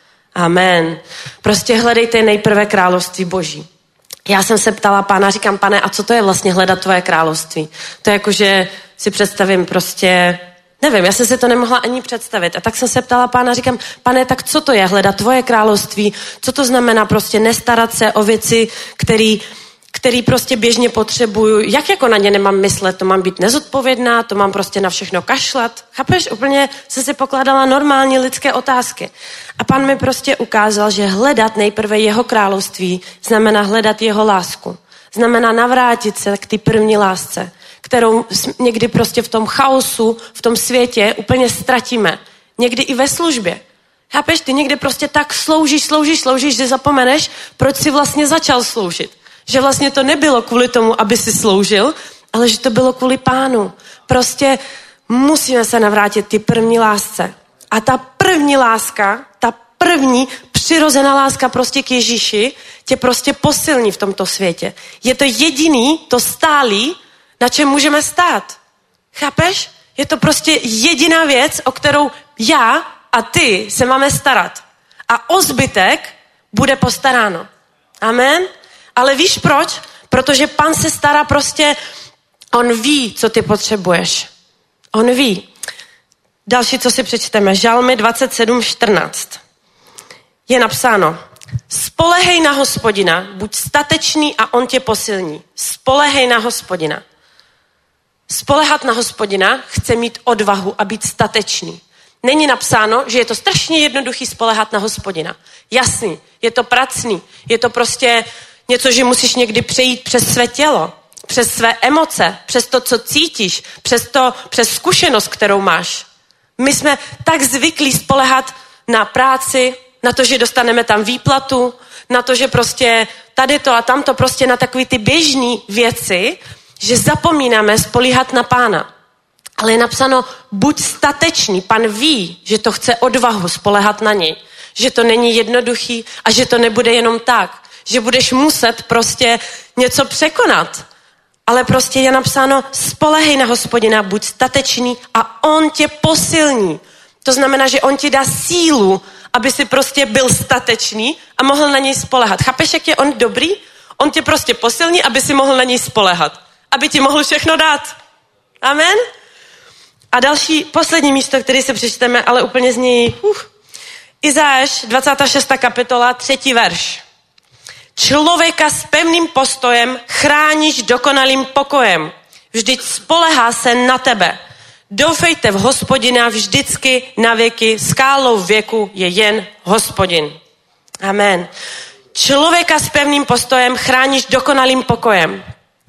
[SPEAKER 4] Amen. Prostě hledejte nejprve království Boží. Já jsem se ptala Pána, říkám, Pane, a co to je vlastně hledat tvoje království? To je jako, že si představím prostě, nevím, já jsem si to nemohla ani představit. A tak jsem se ptala Pána, říkám, Pane, tak co to je hledat tvoje království? Co to znamená prostě nestarat se o věci, který, který prostě běžně potřebuju? Jak jako na ně nemám myslet? To mám být nezodpovědná? To mám prostě na všechno kašlat? Chápeš? Úplně jsem si pokládala normální lidské otázky. A Pán mi prostě ukázal, že hledat nejprve jeho království znamená hledat jeho lásku. Znamená navrátit se k té první lásce, kterou někdy prostě v tom chaosu, v tom světě úplně ztratíme. Někdy i ve službě. Chápeš? Ty někdy prostě tak sloužíš, sloužíš, sloužíš, že zapomeneš, proč jsi vlastně začal sloužit. Že vlastně to nebylo kvůli tomu, aby si sloužil, ale že to bylo kvůli Pánu. Prostě musíme se navrátit ty první lásce. A ta první láska, ta první přirozená láska prostě k Ježíši tě prostě posilní v tomto světě. Je to jediný, to stálý, na čem můžeme stát. Chápeš? Je to prostě jediná věc, o kterou já a ty se máme starat. A o zbytek bude postaráno. Amen? Ale víš proč? Protože Pán se stará prostě, on ví, co ty potřebuješ. On ví. Další, co si přečteme, Žalmy dvacet sedm čtrnáct. Je napsáno, spolehej na Hospodina, buď statečný a on tě posilní. Spolehej na Hospodina. Spolehat na Hospodina chce mít odvahu a být statečný. Není napsáno, že je to strašně jednoduchý spolehat na Hospodina. Jasný, je to pracný, je to prostě něco, že musíš někdy přejít přes své tělo, přes své emoce, přes to, co cítíš, přes, to, přes zkušenost, kterou máš. My jsme tak zvyklí spolehat na práci, na to, že dostaneme tam výplatu, na to, že prostě tady to a tamto, prostě na takové ty běžné věci, že zapomínáme spolíhat na Pána. Ale je napsáno, buď statečný. Pán ví, že to chce odvahu spolehat na něj. Že to není jednoduchý a že to nebude jenom tak. Že budeš muset prostě něco překonat. Ale prostě je napsáno, spolehej na Hospodina, buď statečný a on tě posilní. To znamená, že on ti dá sílu, aby si prostě byl statečný a mohl na něj spolehat. Chápeš, jak je on dobrý? On tě prostě posilní, aby si mohl na něj spolehat. Aby ti mohl všechno dát. Amen? A další, poslední místo, který se přečteme, ale úplně z něj... Uh, Izáš, dvacátá šestá kapitola, třetí verš. Člověka s pevným postojem chráníš dokonalým pokojem. Vždyť spolehá se na tebe. Doufejte v Hospodina vždycky na věky. Skálou věku je jen Hospodin. Amen. Člověka s pevným postojem chráníš dokonalým pokojem.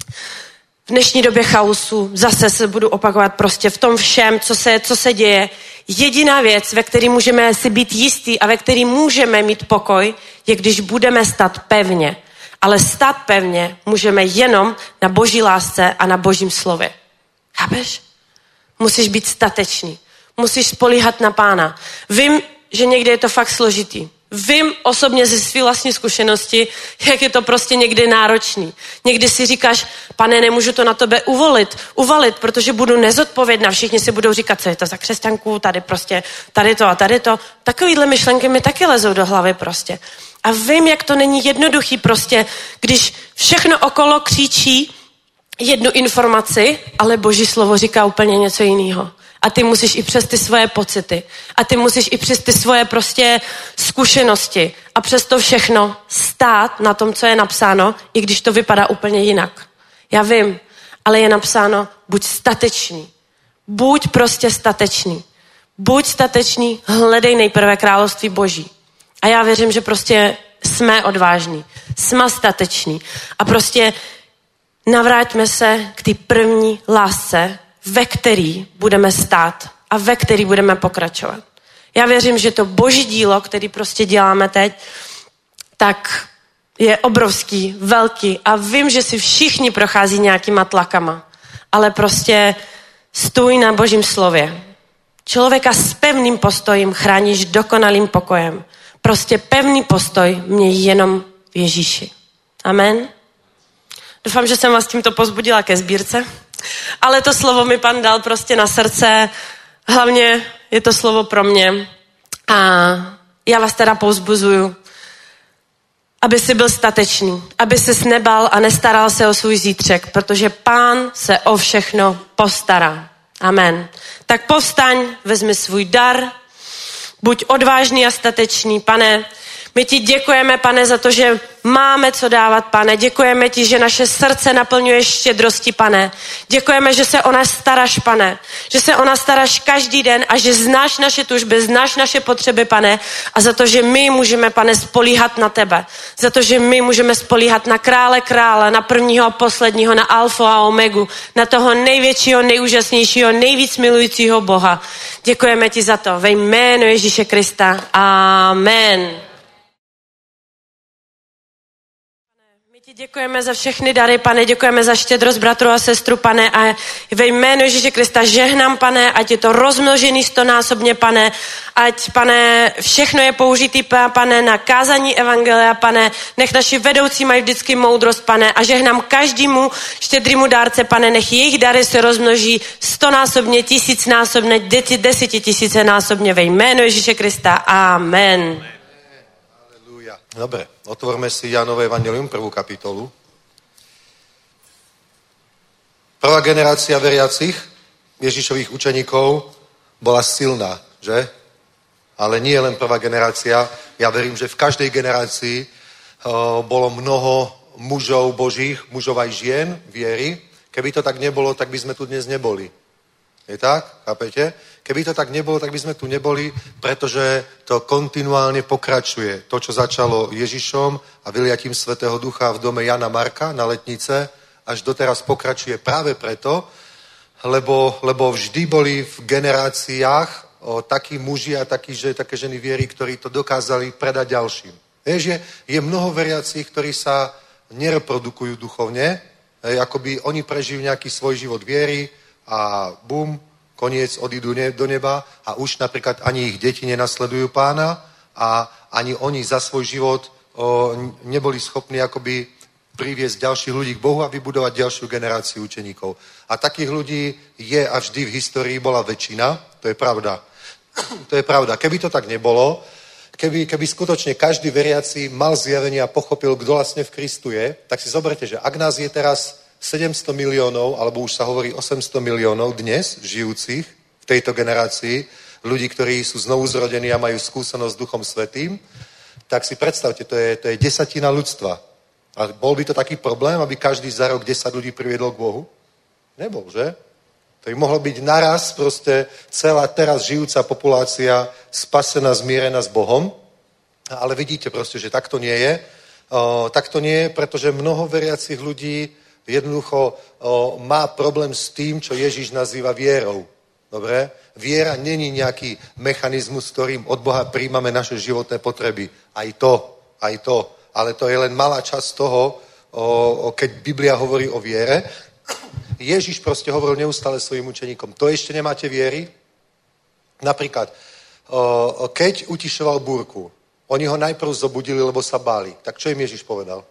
[SPEAKER 4] V dnešní době chaosu zase se budu opakovat prostě v tom všem, co se, co se děje. Jediná věc, ve které můžeme si být jistý a ve které můžeme mít pokoj, je když budeme stát pevně. Ale stát pevně můžeme jenom na Boží lásce a na Božím slově. Chápeš? Musíš být statečný. Musíš spolíhat na Pána. Vím, že někdy je to fakt složitý. Vím osobně ze své vlastní zkušenosti, jak je to prostě někdy náročný. Někdy si říkáš, Pane, nemůžu to na tebe uvolit, uvalit, protože budu nezodpovědná. Všichni si budou říkat, co je to za křesťanku, tady prostě, tady to a tady to. Takovýhle myšlenky mi taky lezou do hlavy prostě. A vím, jak to není jednoduchý prostě, když všechno okolo křičí jednu informaci, ale Boží slovo říká úplně něco jiného. A ty musíš i přes ty svoje pocity. A ty musíš i přes ty svoje prostě zkušenosti. A přes to všechno stát na tom, co je napsáno, i když to vypadá úplně jinak. Já vím, ale je napsáno, buď statečný. Buď prostě statečný. Buď statečný, hledej nejprve království Boží. A já věřím, že prostě jsme odvážní. Jsme stateční. A prostě navráťme se k té první lásce, ve který budeme stát a ve který budeme pokračovat. Já věřím, že to Boží dílo, který prostě děláme teď, tak je obrovský, velký a vím, že si všichni prochází nějakýma tlakama, ale prostě stůj na Božím slově. Člověka s pevným postojím chráníš dokonalým pokojem. Prostě pevný postoj měj jenom v Ježíši. Amen. Doufám, že jsem vás tímto pozbudila ke sbírce, ale to slovo mi Pan dal prostě na srdce. Hlavně je to slovo pro mě a já vás teda povzbuzuju, aby si byl statečný, aby ses nebal a nestaral se o svůj zítřek, protože Pán se o všechno postará. Amen. Tak povstaň, vezmi svůj dar, buď odvážný a statečný, Pane. My ti děkujeme, Pane, za to, že máme co dávat, Pane. Děkujeme ti, že naše srdce naplňuješ štědrosti, Pane. Děkujeme, že se o nás staráš, Pane. Že se o nás staráš každý den a že znáš naše tužby, znáš naše potřeby, Pane. A za to, že my můžeme, Pane, spolíhat na tebe. Za to, že my můžeme spolíhat na krále krále, na prvního a posledního, na alfu a omegu, na toho největšího, nejúžasnějšího, nejvíc milujícího Boha. Děkujeme ti za to. Ve jménu Ježíše Krista. Amen. Děkujeme za všechny dary, Pane, děkujeme za štědrost bratru a sestru, Pane, a ve jménu Ježíše Krista žehnám, Pane, ať je to rozmnožený stonásobně, Pane, ať, Pane, všechno je použitý, Pane, na kázání evangelia, Pane, nech naši vedoucí mají vždycky moudrost, Pane, a žehnám každému štědrému dárce, Pane, nech jejich dary se rozmnoží stonásobně, tisícnásobně, desetitisícenásobně ve jménu Ježíše Krista. Amen.
[SPEAKER 3] Dobre, otvorme si Jánové evangelium, prvú kapitolu. Prvá generácia veriacich, Ježišových učeníkov, bola silná, že? Ale nie len prvá generácia. Ja verím, že v každej generácii uh, bolo mnoho mužov božích, mužov aj žien viery. Keby to tak nebolo, tak by sme tu dnes neboli. Je tak? Chápete? Keby to tak nebolo, tak by sme tu neboli, pretože to kontinuálne pokračuje. To, čo začalo Ježišom a vyliatím Svätého Ducha v dome Jana Marka na Letnice, až doteraz pokračuje práve preto, lebo, lebo vždy boli v generáciách o, takí muži a takí, že, také ženy viery, ktorí to dokázali predať ďalším. Je, že je mnoho veriacich, ktorí sa nereprodukujú duchovne, je, akoby oni prežijú nejaký svoj život viery a bum, koniec, odídu ne, do neba a už napríklad ani ich deti nenasledujú Pána a ani oni za svoj život o, neboli schopní akoby priviesť ďalších ľudí k Bohu a vybudovať ďalšiu generáciu učeníkov. A takých ľudí je a vždy v histórii bola väčšina, to je pravda. To je pravda. Keby to tak nebolo, keby, keby skutočne každý veriaci mal zjavenie a pochopil, kto vlastne v Kristu je, tak si zoberte, že ak nás je teraz sedemsto miliónov, alebo už sa hovorí osemsto miliónov dnes žijúcich v tejto generácii, ľudí, ktorí sú znovu zrodení a majú skúsenosť s Duchom Svätým, tak si predstavte, to je, to je desatina ľudstva. A bol by to taký problém, aby každý za rok desať ľudí priviedol k Bohu? Nebol, že? To by mohlo byť naraz proste celá teraz žijúca populácia spasená, zmierená s Bohom. Ale vidíte proste, že tak to nie je. O, tak to nie je, pretože mnoho veriacich ľudí jednoducho o, má problém s tým, čo Ježiš nazýva vierou. Dobre? Viera není nejaký mechanizmus, ktorým od Boha príjmame naše životné potreby. Aj to, aj to. Ale to je len malá časť toho, o, o, keď Biblia hovorí o viere. Ježiš proste hovoril neustále svojim učeníkom. To ešte nemáte viery? Napríklad, o, keď utišoval búrku, oni ho najprv zobudili, lebo sa báli. Tak čo im Ježiš povedal?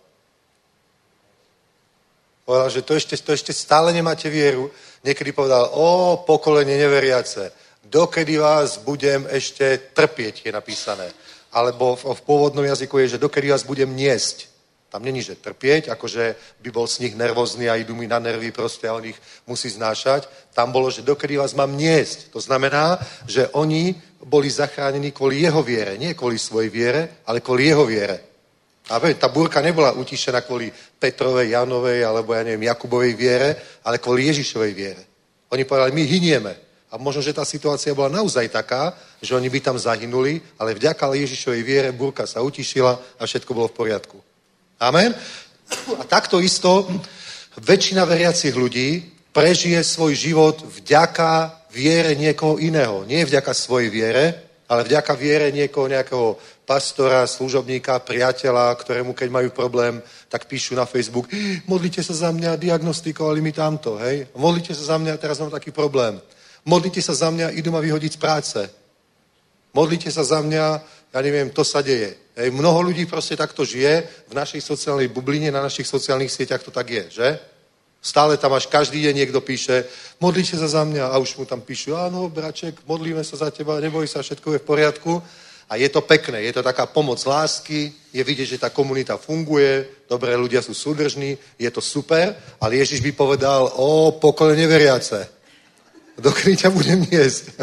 [SPEAKER 3] Povedal, že to ešte, to ešte stále nemáte vieru. Niekedy povedal, o pokolenie neveriace, dokedy vás budem ešte trpieť, je napísané. Alebo v, v pôvodnom jazyku je, že dokedy vás budem niesť. Tam není, že trpieť, akože by bol z nich nervózny a idú mi na nervy proste a on ich musí znášať. Tam bolo, že dokedy vás mám niesť. To znamená, že oni boli zachránení kvôli jeho viere. Nie kvôli svojej viere, ale kvôli jeho viere. A tá búrka nebola utišená kvôli Petrovej, Janovej alebo ja neviem, Jakubovej viere, ale kvôli Ježišovej viere. Oni povedali, my hynieme. A možno, že tá situácia bola naozaj taká, že oni by tam zahynuli, ale vďaka Ježišovej viere búrka sa utišila a všetko bolo v poriadku. Amen? A takto isto väčšina veriacich ľudí prežije svoj život vďaka viere niekoho iného. Nie vďaka svojej viere, ale vďaka viere niekoho, nejakého pastora, služobníka, priateľa, ktorému keď majú problém, tak píšu na Facebook, modlite sa za mňa, diagnostikovali mi tamto, hej? Modlite sa za mňa, teraz mám taký problém. Modlite sa za mňa, idú ma vyhodiť z práce. Modlite sa za mňa, ja neviem, to sa deje. Hej? Mnoho ľudí proste takto žije v našej sociálnej bubline, na našich sociálnych sieťach to tak je, že? Stále tam až každý deň niekto píše, modlite sa za mňa a už mu tam píšu, áno, braček, modlíme sa za teba, neboj sa, všetko je v poriadku. A je to pekné, je to taká pomoc lásky, je vidieť, že tá komunita funguje, dobré ľudia sú súdržní, je to super, ale Ježiš by povedal, o, pokole neveriace, dokedy ťa budem jesť.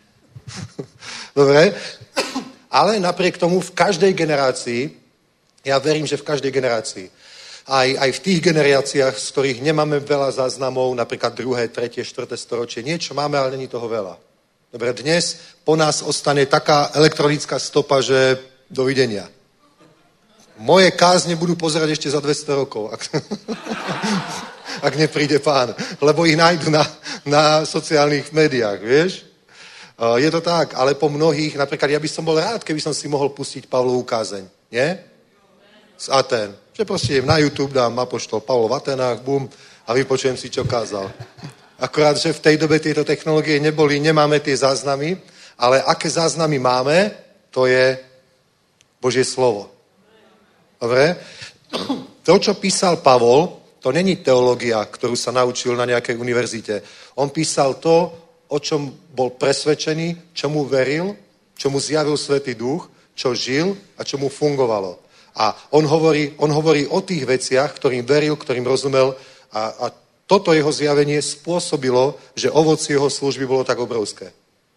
[SPEAKER 3] Dobre? Ale napriek tomu v každej generácii, ja verím, že v každej generácii, aj, aj v tých generáciách, z ktorých nemáme veľa záznamov, napríklad druhé, tretie, štvrté storočie, niečo máme, ale není toho veľa. Dobre, dnes po nás ostane taká elektronická stopa, že dovidenia. Moje kázne budú pozerať ešte za dvesto rokov, ak, ak nepríde pán, lebo ich nájdu na, na sociálnych médiách, vieš? Je to tak, ale po mnohých, napríklad ja by som bol rád, keby som si mohol pustiť Pavlovú kázeň, nie? Z Aten. Že proste idem na YouTube, dám apoštol Pavlo v Atenách, bum, a vypočujem si, čo kázal. Akorát, že v tej dobe tieto technológie neboli, nemáme tie záznamy, ale aké záznamy máme, to je Božie slovo. Dobre? To, čo písal Pavol, to není teológia, ktorú sa naučil na nejakej univerzite. On písal to, o čom bol presvedčený, čomu veril, čomu zjavil Svätý Duch, čo žil a čomu fungovalo. A on hovorí, on hovorí o tých veciach, ktorým veril, ktorým rozumel a, a toto jeho zjavenie spôsobilo, že ovocie jeho služby bolo tak obrovské.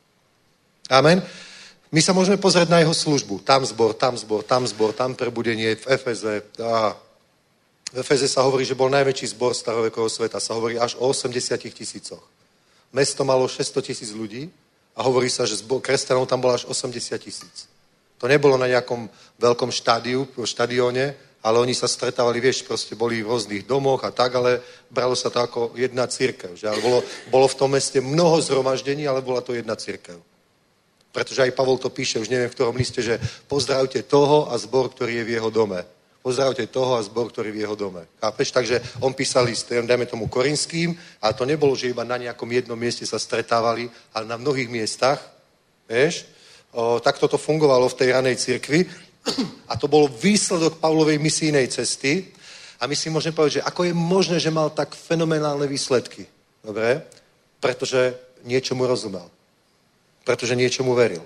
[SPEAKER 3] Amen. My sa môžeme pozrieť na jeho službu. Tam zbor, tam zbor, tam zbor, tam prebudenie v Efeze. A v Efeze sa hovorí, že bol najväčší zbor starovekového sveta. Sa hovorí až o osemdesiatich tisícoch. Mesto malo šesťsto tisíc ľudí a hovorí sa, že zbor kresťanov tam bolo až osemdesiat tisíc. To nebolo na nejakom veľkom štádiu, štadióne, ale oni sa stretávali, vieš, proste boli v rôznych domoch a tak, ale bralo sa to ako jedna cirkev. Že? Ale bolo, bolo v tom meste mnoho zhromaždení, ale bola to jedna cirkev. Pretože aj Pavol to píše, už neviem v ktorom liste, že pozdravte toho a zbor, ktorý je v jeho dome. Pozdravte toho a zbor, ktorý je v jeho dome. Chápeš? Takže on písal list, dajme tomu korinským, ale to nebolo, že iba na nejakom jednom mieste sa stretávali, ale na mnohých miestach, vieš, o, takto to fungovalo v tej ranej cirkvi a to bol výsledok Pavlovej misijnej cesty a my si môžeme povedať, že ako je možné, že mal tak fenomenálne výsledky. Dobre? Pretože niečomu rozumel. Pretože niečomu veril.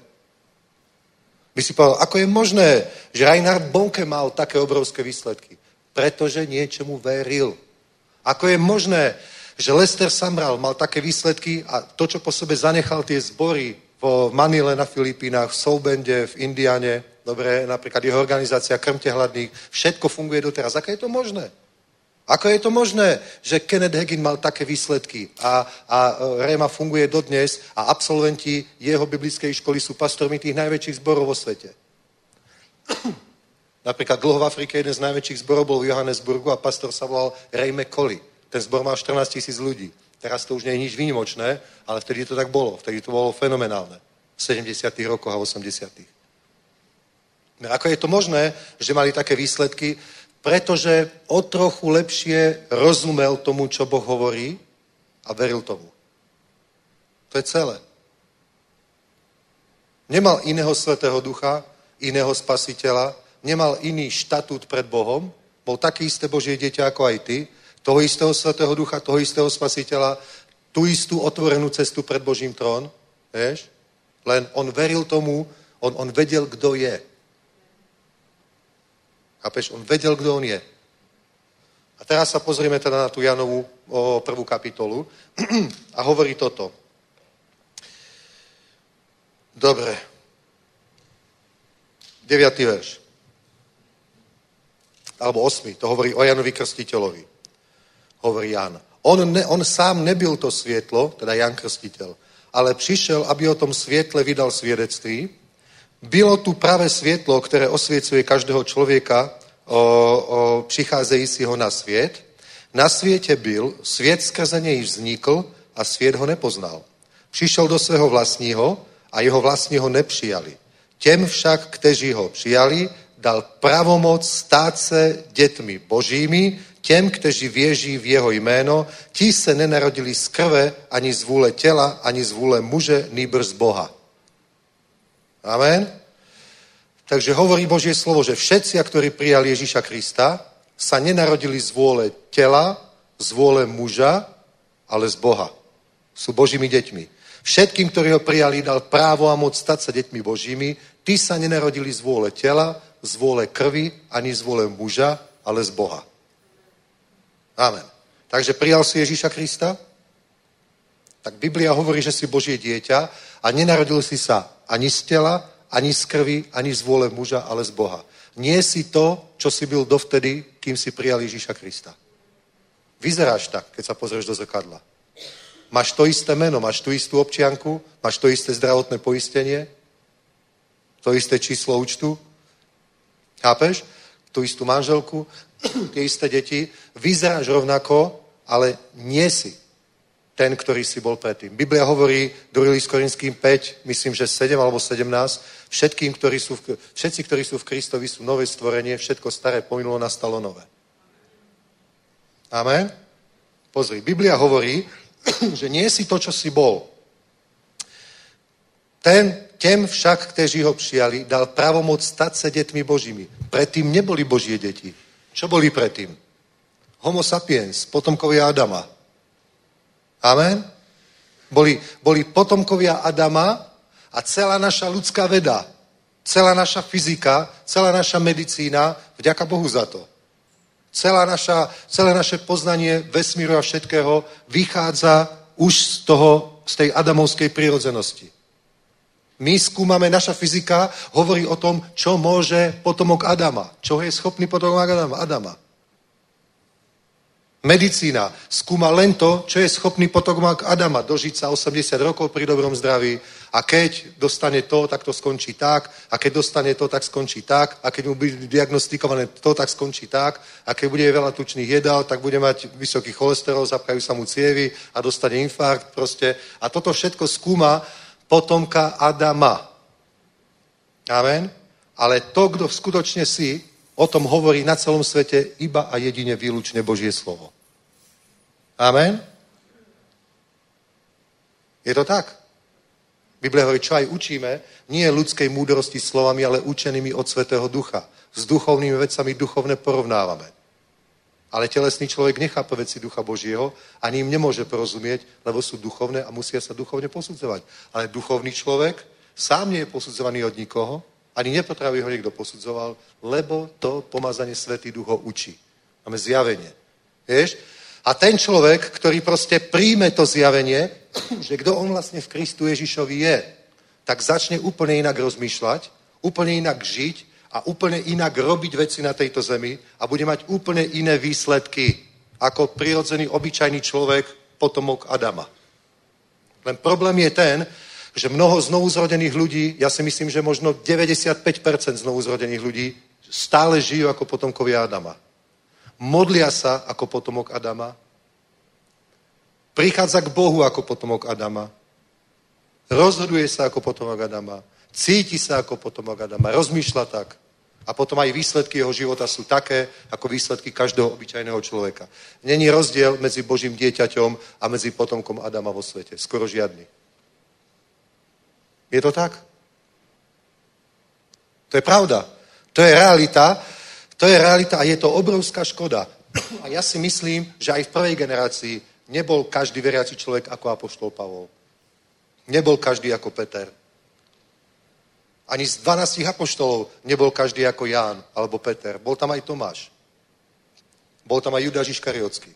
[SPEAKER 3] By si povedal, ako je možné, že Reinhard Bonke mal také obrovské výsledky? Pretože niečomu veril. Ako je možné, že Lester Sumrall mal také výsledky a to, čo po sebe zanechal tie zbory v Manile na Filipínach, v Soubende, v Indiane, dobre, napríklad jeho organizácia Krmte hladných, všetko funguje doteraz. Ako je to možné? Ako je to možné, že Kenneth Hagin mal také výsledky a, a Réma funguje dodnes a absolventi jeho biblickej školy sú pastormi tých najväčších zborov vo svete. Napríklad dlho v Afrike jeden z najväčších zborov bol v Johannesburgu a pastor sa volal Ray McCauley. Ten zbor má štrnásť tisíc ľudí. Teraz to už nie je nič výnimočné, ale vtedy to tak bolo. Vtedy to bolo fenomenálne. V sedemdesiatych rokoch a osemdesiatych. Ako je to možné, že mali také výsledky? Pretože o trochu lepšie rozumel tomu, čo Boh hovorí a veril tomu. To je celé. Nemal iného Svätého Ducha, iného Spasiteľa, nemal iný štatút pred Bohom, bol také isté Božie dieťa ako aj ty, toho istého Svätého Ducha, toho istého Spasiteľa, tú istú otvorenú cestu pred Božím trón, vieš? Len on veril tomu, on, on vedel, kto je. Chápeš? On vedel, kto on je. A teraz sa pozrieme teda na tú Janovú o, prvú kapitolu a hovorí toto. Dobre. Deviatý verš. Alebo osmi. To hovorí o Janovi Krstiteľovi. Hovorí Jan. On, ne, on sám nebyl to svietlo, teda Jan Krstiteľ, ale přišel, aby o tom svietle vydal svedectví. Bylo tu pravé svietlo, ktoré osviecuje každého človeka, o, o, přicházejícího na svět. Na světě byl, svět skrze něj vznikl a svět ho nepoznal. Přišel do svého vlastního, a jeho vlastní ho nepřijali. Těm však, kteří ho přijali, dal pravomoc stát se dětmi božími, těm, kteří věří v jeho jméno, ti se nenarodili z krve, ani z vůle těla, ani z vůle muže, nýbrž z Boha. Amen. Takže hovorí Božie slovo, že všetci, ktorí prijali Ježíša Krista, sa nenarodili z vôle tela, z vôle muža, ale z Boha. Sú Božími deťmi. Všetkým, ktorí ho prijali, dal právo a moc stať sa deťmi Božími, tí sa nenarodili z vôle tela, z vôle krvi, ani z vôle muža, ale z Boha. Amen. Takže prijal si Ježíša Krista? Tak Biblia hovorí, že si Božie dieťa a nenarodil si sa ani z tela, ani z krvi, ani z vôle muža, ale z Boha. Nie si to, čo si byl dovtedy, kým si prijal Ježíša Krista. Vyzeráš tak, keď sa pozrieš do zrkadla. Máš to isté meno, máš tú istú občianku, máš to isté zdravotné poistenie, to isté číslo účtu, chápeš? Tú istú manželku, tie isté deti, vyzeráš rovnako, ale nie si ten, ktorý si bol predtým. Biblia hovorí, druhý list Korinským päť, myslím, že sedem alebo sedemnásť, všetkým, ktorí sú v, všetci, ktorí sú v Kristovi, sú nové stvorenie, všetko staré pominulo, nastalo nové. Amen? Pozri, Biblia hovorí, že nie si to, čo si bol. Ten, těm však, kteří ho přijali, dal pravomoc stať se dětmi Božími. Predtým neboli Božie deti. Čo boli predtým? Homo sapiens, potomkovia Adama. Amen? Boli, boli potomkovia Adama a celá naša ľudská veda, celá naša fyzika, celá naša medicína, vďaka Bohu za to. Celá naša, celé naše poznanie vesmíru a všetkého vychádza už z toho, z tej adamovskej prírodzenosti. My skúmame, naša fyzika hovorí o tom, čo môže potomok Adama, čo je schopný potomok Adama. Adama. Medicína skúma len to, čo je schopný potomok Adama, dožiť sa osemdesiat rokov pri dobrom zdraví a keď dostane to, tak to skončí tak a keď dostane to, tak skončí tak a keď mu bude diagnostikované to, tak skončí tak a keď bude veľa tučných jedál, tak bude mať vysoký cholesterol, zapkajú sa mu cievy a dostane infarkt proste a toto všetko skúma potomka Adama. Amen? Ale to, kto skutočne si, o tom hovorí na celom svete iba a jedine výlučne Božie slovo. Amen? Je to tak? Biblia hovorí, čo aj učíme, nie ľudskej múdrosti slovami, ale učenými od Svätého Ducha. S duchovnými vecami duchovne porovnávame. Ale telesný človek nechápe veci Ducha Božieho, ani im nemôže porozumieť, lebo sú duchovné a musia sa duchovne posudzovať. Ale duchovný človek sám nie je posudzovaný od nikoho, ani nepotrebuje ho niekto posudzoval, lebo to pomazanie Svätý Duch ho učí. Máme zjavenie. Vieš? A ten človek, ktorý proste príjme to zjavenie, že kto on vlastne v Kristu Ježišovi je, tak začne úplne inak rozmýšľať, úplne inak žiť a úplne inak robiť veci na tejto zemi a bude mať úplne iné výsledky ako prirodzený, obyčajný človek, potomok Adama. Len problém je ten, že mnoho znovuzrodených ľudí, ja si myslím, že možno deväťdesiatpäť percent znovuzrodených ľudí stále žijú ako potomkovia Adama. Modlia sa ako potomok Adama. Prichádza k Bohu ako potomok Adama. Rozhoduje sa ako potomok Adama. Cíti sa ako potomok Adama. Rozmýšľa tak. A potom aj výsledky jeho života sú také, ako výsledky každého obyčajného človeka. Není rozdiel medzi Božím dieťaťom a medzi potomkom Adama vo svete. Skoro žiadny. Je to tak? To je pravda. To je realita. To je realita a je to obrovská škoda. A ja si myslím, že aj v prvej generácii nebol každý veriaci človek ako apoštol Pavol. Nebol každý ako Peter. Ani z dvanástich apoštolov nebol každý ako Ján alebo Peter. Bol tam aj Tomáš. Bol tam aj Judáš Iškariotský.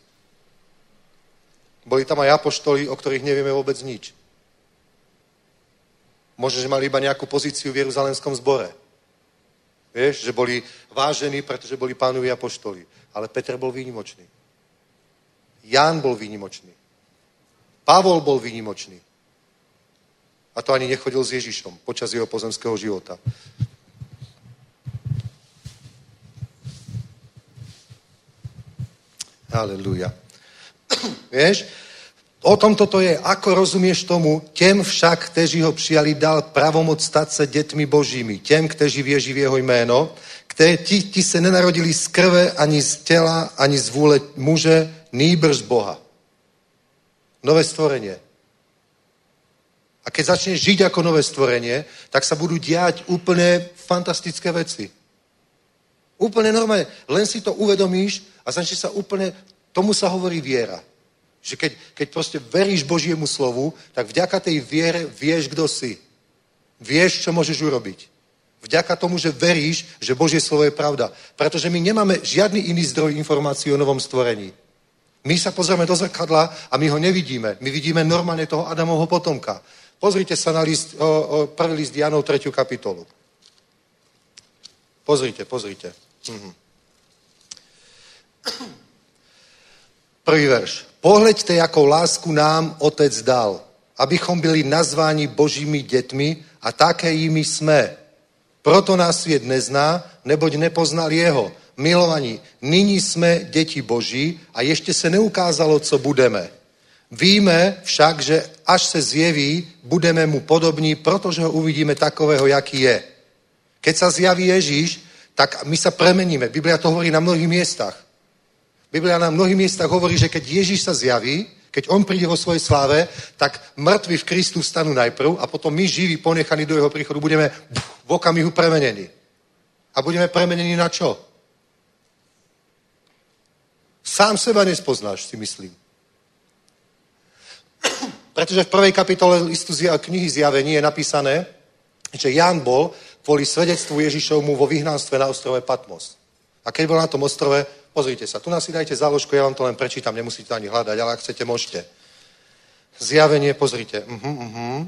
[SPEAKER 3] Boli tam aj apoštoli, o ktorých nevieme vôbec nič. Možno, že mali iba nejakú pozíciu v Jeruzalémskom zbore. Vieš, že boli vážení, pretože boli pánovi apoštoli. Ale Peter bol výnimočný. Ján bol výnimočný. Pavol bol výnimočný. A to ani nechodil s Ježišom počas jeho pozemského života. Halelúja. Vieš, O tom toto je. Ako rozumieš tomu? Těm však, kteří ho přijali, dal pravomoc stát se dětmi božími. Těm, kteří věří v jeho jméno, kteří ti, ti se nenarodili z krve, ani z těla, ani z vůle muže, nýbrž z Boha. Nové stvorenie. A keď začneš žiť ako nové stvorenie, tak sa budú diať úplne fantastické veci. Úplne normálne. Len si to uvedomíš a začneš sa úplne, tomu sa hovorí viera. Že keď, keď proste veríš Božiemu slovu, tak vďaka tej viere vieš, kdo si. Vieš, čo môžeš urobiť. Vďaka tomu, že veríš, že Božie slovo je pravda. Pretože my nemáme žiadny iný zdroj informácií o novom stvorení. My sa pozrieme do zrkadla a my ho nevidíme. My vidíme normálne toho Adamovho potomka. Pozrite sa na list, o, o, prvý list Janov, tretiu kapitolu. Pozrite, pozrite. Mhm. Prvý verš. Pohleďte, jakou lásku nám Otec dal, abychom byli nazváni Božími dětmi a také jimi jsme. Proto nás svět nezná, neboť nepoznal jeho. Milovaní, nyní jsme děti Boží a ještě se neukázalo, co budeme. Víme však, že až se zjeví, budeme mu podobní, protože ho uvidíme takového, jaký je. Keď sa zjaví Ježíš, tak my sa premeníme. Biblia to hovorí na mnohých miestach. Biblia na mnohých miestach hovorí, že keď Ježíš sa zjaví, keď on príde vo svojej sláve, tak mŕtvi v Kristu stanú najprv a potom my živí, ponechaní do jeho príchodu, budeme v okamihu premenení. A budeme premenení na čo? Sám seba nespoznáš, si myslím. Pretože v prvej kapitole listu knihy Zjavení je napísané, že Ján bol kvôli svedectvu Ježišovmu vo vyhnanstve na ostrove Patmos. A keď bol na tom ostrove, pozrite sa, tu nás si dajte záložku, ja vám to len prečítam, nemusíte ani hľadať, ale ak chcete, môžete. Zjavenie, pozrite. Uh-huh, uh-huh.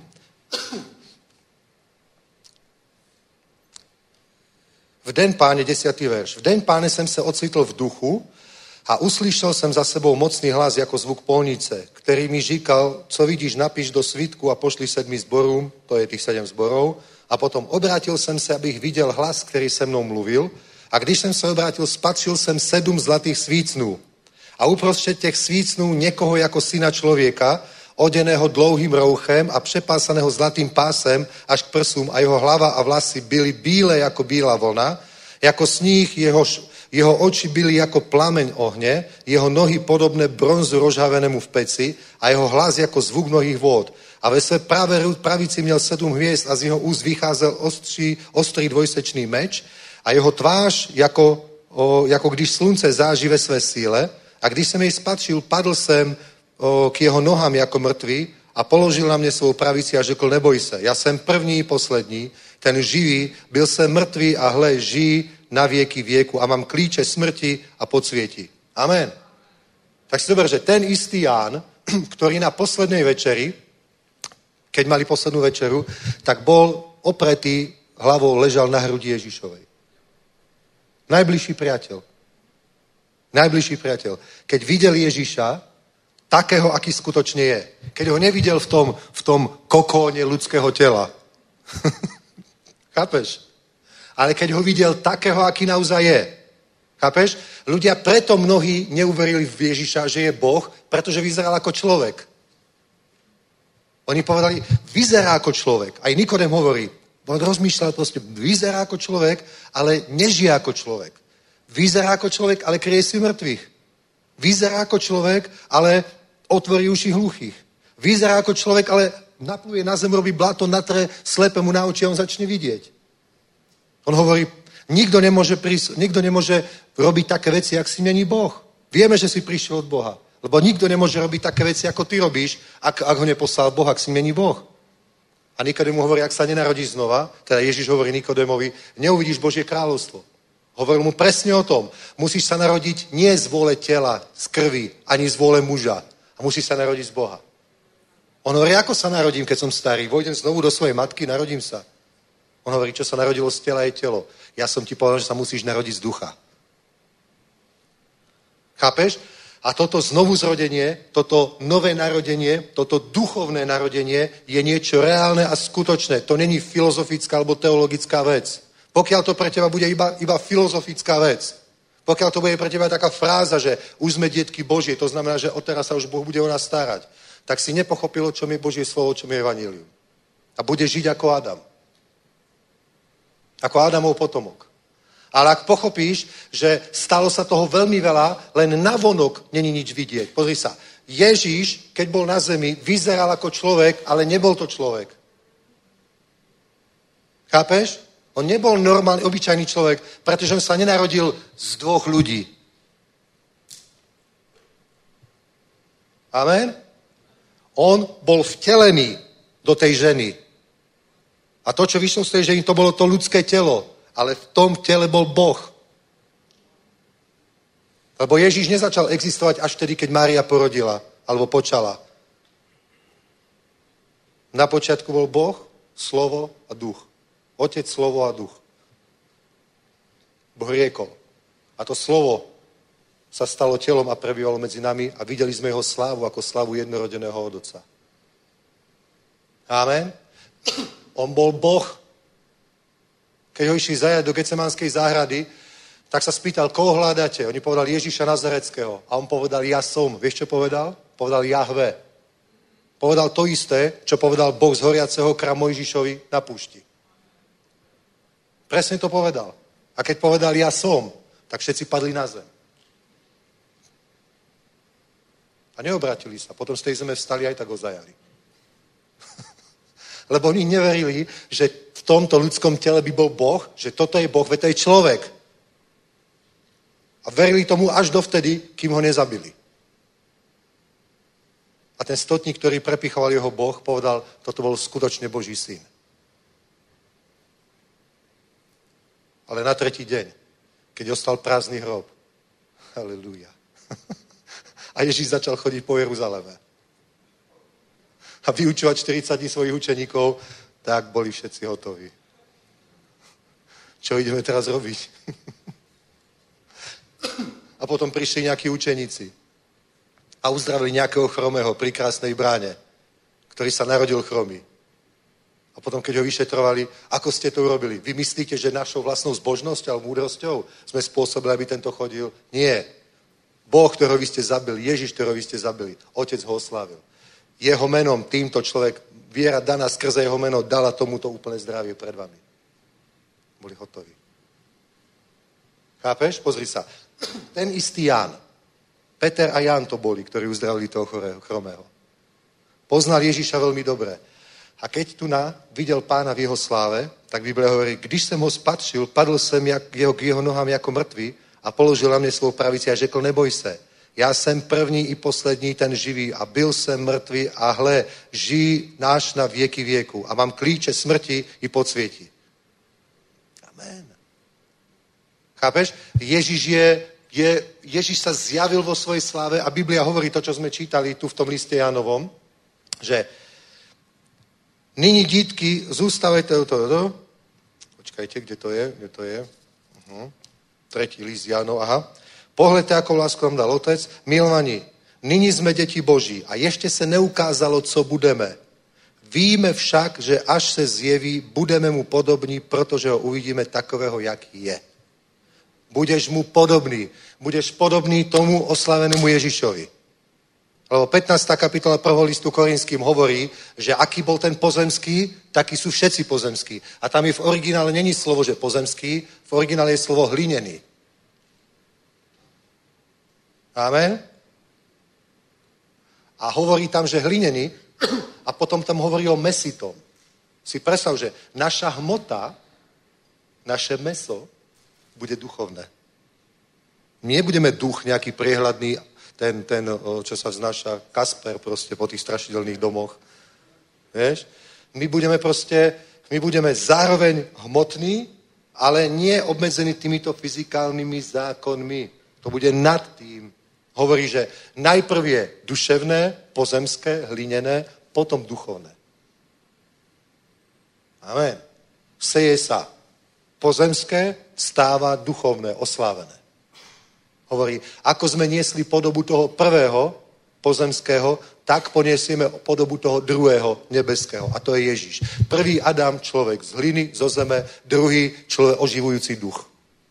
[SPEAKER 3] V den Páně, desiatý verš. V den Páně jsem se ocitl v duchu a uslyšel jsem za sebou mocný hlas jako zvuk polnice, který mi říkal, co vidíš, napiš do svitku a pošli sedmi zborům, to je tých sedm zborov, a potom obrátil jsem se, abych viděl hlas, který se mnou mluvil, a když jsem se obrátil, spatřil jsem sedm zlatých svícnů. A uprostřed těch svícnů někoho jako syna člověka, oděného dlouhým rouchem a přepásaného zlatým pásem až k prsům a jeho hlava a vlasy byly bílé jako bílá vlna, jako sníh, jehož, jeho oči byly jako plameň ohně, jeho nohy podobné bronzu rozhavenému v peci a jeho hlas jako zvuk mnohých vod. A ve své pravé pravici měl sedm hvězd a z jeho úst vycházel ostří, ostrý dvojsečný meč a jeho tvář jako, o, jako když slunce září ve své síle a když jsem jej spatřil, padl jsem o, k jeho nohám jako mrtvý a položil na mě svou pravici a řekl, neboj se, já jsem první i poslední, ten živý, byl jsem mrtvý a hle, žijí na věky věku a mám klíče smrti a podsvětí. Amen. Tak si dober, že ten istý Ján, ktorý na poslednej večeri, keď mali poslednú večeru, tak bol opretý hlavou, ležal na hrudi Ježišovej. Najbližší priateľ. Najbližší priateľ. Keď videl Ježiša, takého, aký skutočne je. Keď ho nevidel v tom, v tom kokóne ľudského tela. Chápeš? Ale keď ho videl takého, aký naozaj je. Chápeš? Ľudia preto mnohí neuverili v Ježiša, že je Boh, pretože vyzeral ako človek. Oni povedali, vyzerá ako človek. Aj Nikodem hovorí, on rozmýšľal proste, vyzerá ako človek, ale nežije ako človek. Vyzerá ako človek, ale kryje si mŕtvych. Vyzerá ako človek, ale otvorí uši hluchých. Vyzerá ako človek, ale napluje na zem, robí blato, natre slepému na oči a on začne vidieť. On hovorí, nikto nemôže, prís- nikto nemôže robiť také veci, jak si mení Boh. Vieme, že si prišiel od Boha. Lebo nikto nemôže robiť také veci, ako ty robíš, ak, ak ho neposlal Boh, ak si mení Boh. A Nikodem mu hovorí, ak sa nenarodíš znova, teda Ježiš hovorí Nikodemovi, neuvidíš Božie kráľovstvo. Hovoril mu presne o tom. Musíš sa narodiť nie z vôle tela, z krvi, ani z vôle muža. A musíš sa narodiť z Boha. On hovorí, ako sa narodím, keď som starý? Vojdem znovu do svojej matky, narodím sa. On hovorí, čo sa narodilo z tela je telo. Ja som ti povedal, že sa musíš narodiť z ducha. Chápeš? A toto znovu zrodenie, toto nové narodenie, toto duchovné narodenie je niečo reálne a skutočné. To není filozofická alebo teologická vec. Pokiaľ to pre teba bude iba, iba filozofická vec, pokiaľ to bude pre teba taká fráza, že už sme detky Božie, to znamená, že odteraz sa už Boh bude o nás starať, tak si nepochopil, o čom je Božie slovo, o čom je evanjelium. A bude žiť ako Adam. Ako Adamov potomok. Ale ak pochopíš, že stalo sa toho veľmi veľa, len navonok není nič vidieť. Pozri sa, Ježíš, keď bol na zemi, vyzeral ako človek, ale nebol to človek. Chápeš? On nebol normálny, obyčajný človek, pretože on sa nenarodil z dvoch ľudí. Amen? On bol vtelený do tej ženy. A to, čo vyšlo z tej ženy, to bolo to ľudské telo. Ale v tom tele bol Boh. Lebo Ježíš nezačal existovať až vtedy, keď Mária porodila, alebo počala. Na počiatku bol Boh, slovo a duch. Otec, slovo a duch. Boh riekol. A to slovo sa stalo telom a prebývalo medzi nami a videli sme jeho slávu ako slávu jednorodeného od Otca. Amen. On bol Boh. Keď ho išli zajať do Getsemanskej záhrady, tak sa spýtal, koho hľadáte? Oni povedali Ježíša Nazareckého. A on povedal, ja som. Vieš, čo povedal? Povedal Jahve. Povedal to isté, čo povedal Boh z horiaceho kra Mojžišovi na púšti. Presne to povedal. A keď povedal ja som, tak všetci padli na zem. A neobratili sa. Potom z tej zeme vstali aj tak ho zajali. Lebo oni neverili, že v tomto ľudskom tele by bol Boh, že toto je Boh, veď to je človek. A verili tomu až dovtedy, kým ho nezabili. A ten stotník, ktorý prepichoval jeho Boh, povedal, toto bol skutočne Boží syn. Ale na tretí deň, keď ostal prázdny hrob, halelúja. A Ježíš začal chodiť po Jeruzaleme. A vyučovať štyridsať dní svojich učeníkov, tak boli všetci hotoví. Čo ideme teraz robiť? A potom prišli nejakí učeníci a uzdravili nejakého chromého pri krásnej bráne, ktorý sa narodil chromý. A potom, keď ho vyšetrovali, ako ste to urobili? Vy myslíte, že našou vlastnou zbožnosťou a múdrosťou sme spôsobili, aby tento chodil? Nie. Boh, ktorého vy ste zabili, Ježiš, ktorého vy ste zabili, Otec ho oslávil. Jeho menom týmto človek, viera daná skrze jeho meno, dala tomuto úplné zdravie pred vami. Boli hotoví. Chápeš? Pozri sa. Ten istý Ján. Peter a Ján to boli, ktorí uzdravili toho chorého, chromého. Poznal Ježíša veľmi dobre. A keď tu na videl pána v jeho sláve, tak Biblia hovorí, když jsem ho spatřil, padl jsem jak, jeho, k jeho nohám jako mrtvý a položil na mě svou pravici a řekl, neboj se. Já jsem první i poslední, ten živý a byl jsem mrtvý a hle, žijí náš na věky věku a mám klíče smrti i podsvětí. Amen. Chápeš? Ježíš je, je, Ježíš sa zjavil vo svojej sláve a Biblia hovorí to, čo sme čítali tu v tom liste Jánovom, že nyní dítky, zůstavejte to, to, to. Počkajte, kde to je, kde to je. Uh-huh. Tretí list Jánov, aha. Pohledte, ako lásku nám dal Otec. Milovaní, nyní jsme děti Boží a ještě se neukázalo, co budeme. Víme však, že až se zjeví, budeme mu podobní, protože ho uvidíme takového, jaký je. Budeš mu podobný. Budeš podobný tomu oslavenému Ježišovi. Lebo pätnásta kapitola prvého listu Korinským hovorí, že aký bol ten pozemský, takí sú všetci pozemskí. A tam je v originále není slovo, že pozemský, v originále je slovo hlinený. Amen? A hovorí tam, že hlinený, a potom tam hovorí o mesitom. Si predstav, že naša hmota, naše meso bude duchovné. My nebudeme duch nejaký priehľadný, ten, ten, čo sa vznáša, Kasper proste po tých strašidelných domoch. Vieš? My budeme proste, my budeme zároveň hmotní, ale nie obmedzení týmito fyzikálnymi zákonmi. To bude nad tým. Hovorí, že najprv je duševné, pozemské, hlinené, potom duchovné. Amen. Seje sa pozemské, stáva duchovné, oslávené. Hovorí, ako sme niesli podobu toho prvého pozemského, tak poniesieme podobu toho druhého nebeského. A to je Ježíš. Prvý Adam, človek z hliny, zo zeme, druhý človek oživujúci duch.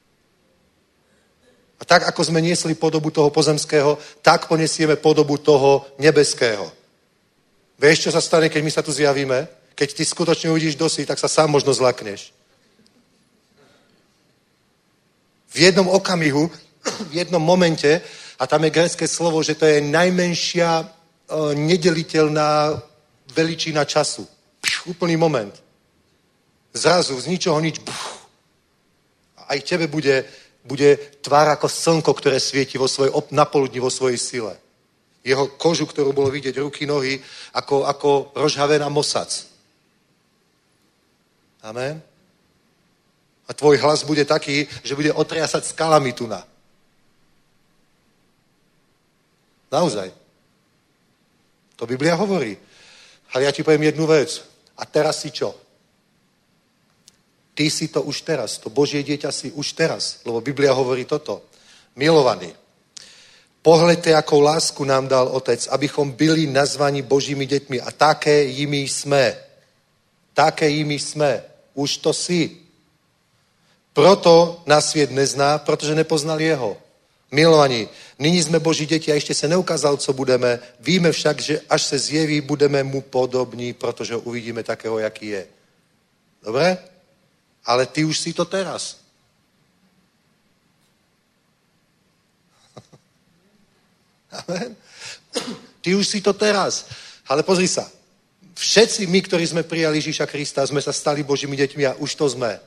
[SPEAKER 3] A tak, ako sme niesli podobu toho pozemského, tak poniesieme podobu toho nebeského. Vieš, čo sa stane, keď my sa tu zjavíme? Keď ty skutočne uvidíš dosi, tak sa sám možno zlakneš. V jednom okamihu, v jednom momente, a tam je grécke slovo, že to je najmenšia uh, nedeliteľná veličina času. Pš, úplný moment. Zrazu, z ničoho nič. Buf. A aj tebe bude, bude tvár ako slnko, ktoré svieti vo svojej, napoludni vo svojej sile. Jeho kožu, ktorú bolo vidieť, ruky, nohy, ako, ako rozhavená mosac. Amen. A tvoj hlas bude taký, že bude otriasať skalami tuna. Naozaj. To Biblia hovorí. Ale ja ti poviem jednu vec. A teraz si čo? Ty si to už teraz. To Božie dieťa si už teraz. Lebo Biblia hovorí toto. Milovaný, pohľadte, akou lásku nám dal Otec, abychom byli nazvaní Božími deťmi. A také jimi jsme. Také jimi jsme. Už to si. Proto nás svět nezná, protože nepoznal jeho. Milovaní, nyní jsme Boží děti a ještě se neukázal, co budeme. Víme však, že až se zjeví, budeme mu podobní, protože ho uvidíme takého, jaký je. Dobre? Ale ty už si to teraz. Amen. Ty už si to teraz. Ale pozri sa. Všetci my, ktorí sme prijali Ježíša Krista, sme sa stali Božími deťmi a už to sme.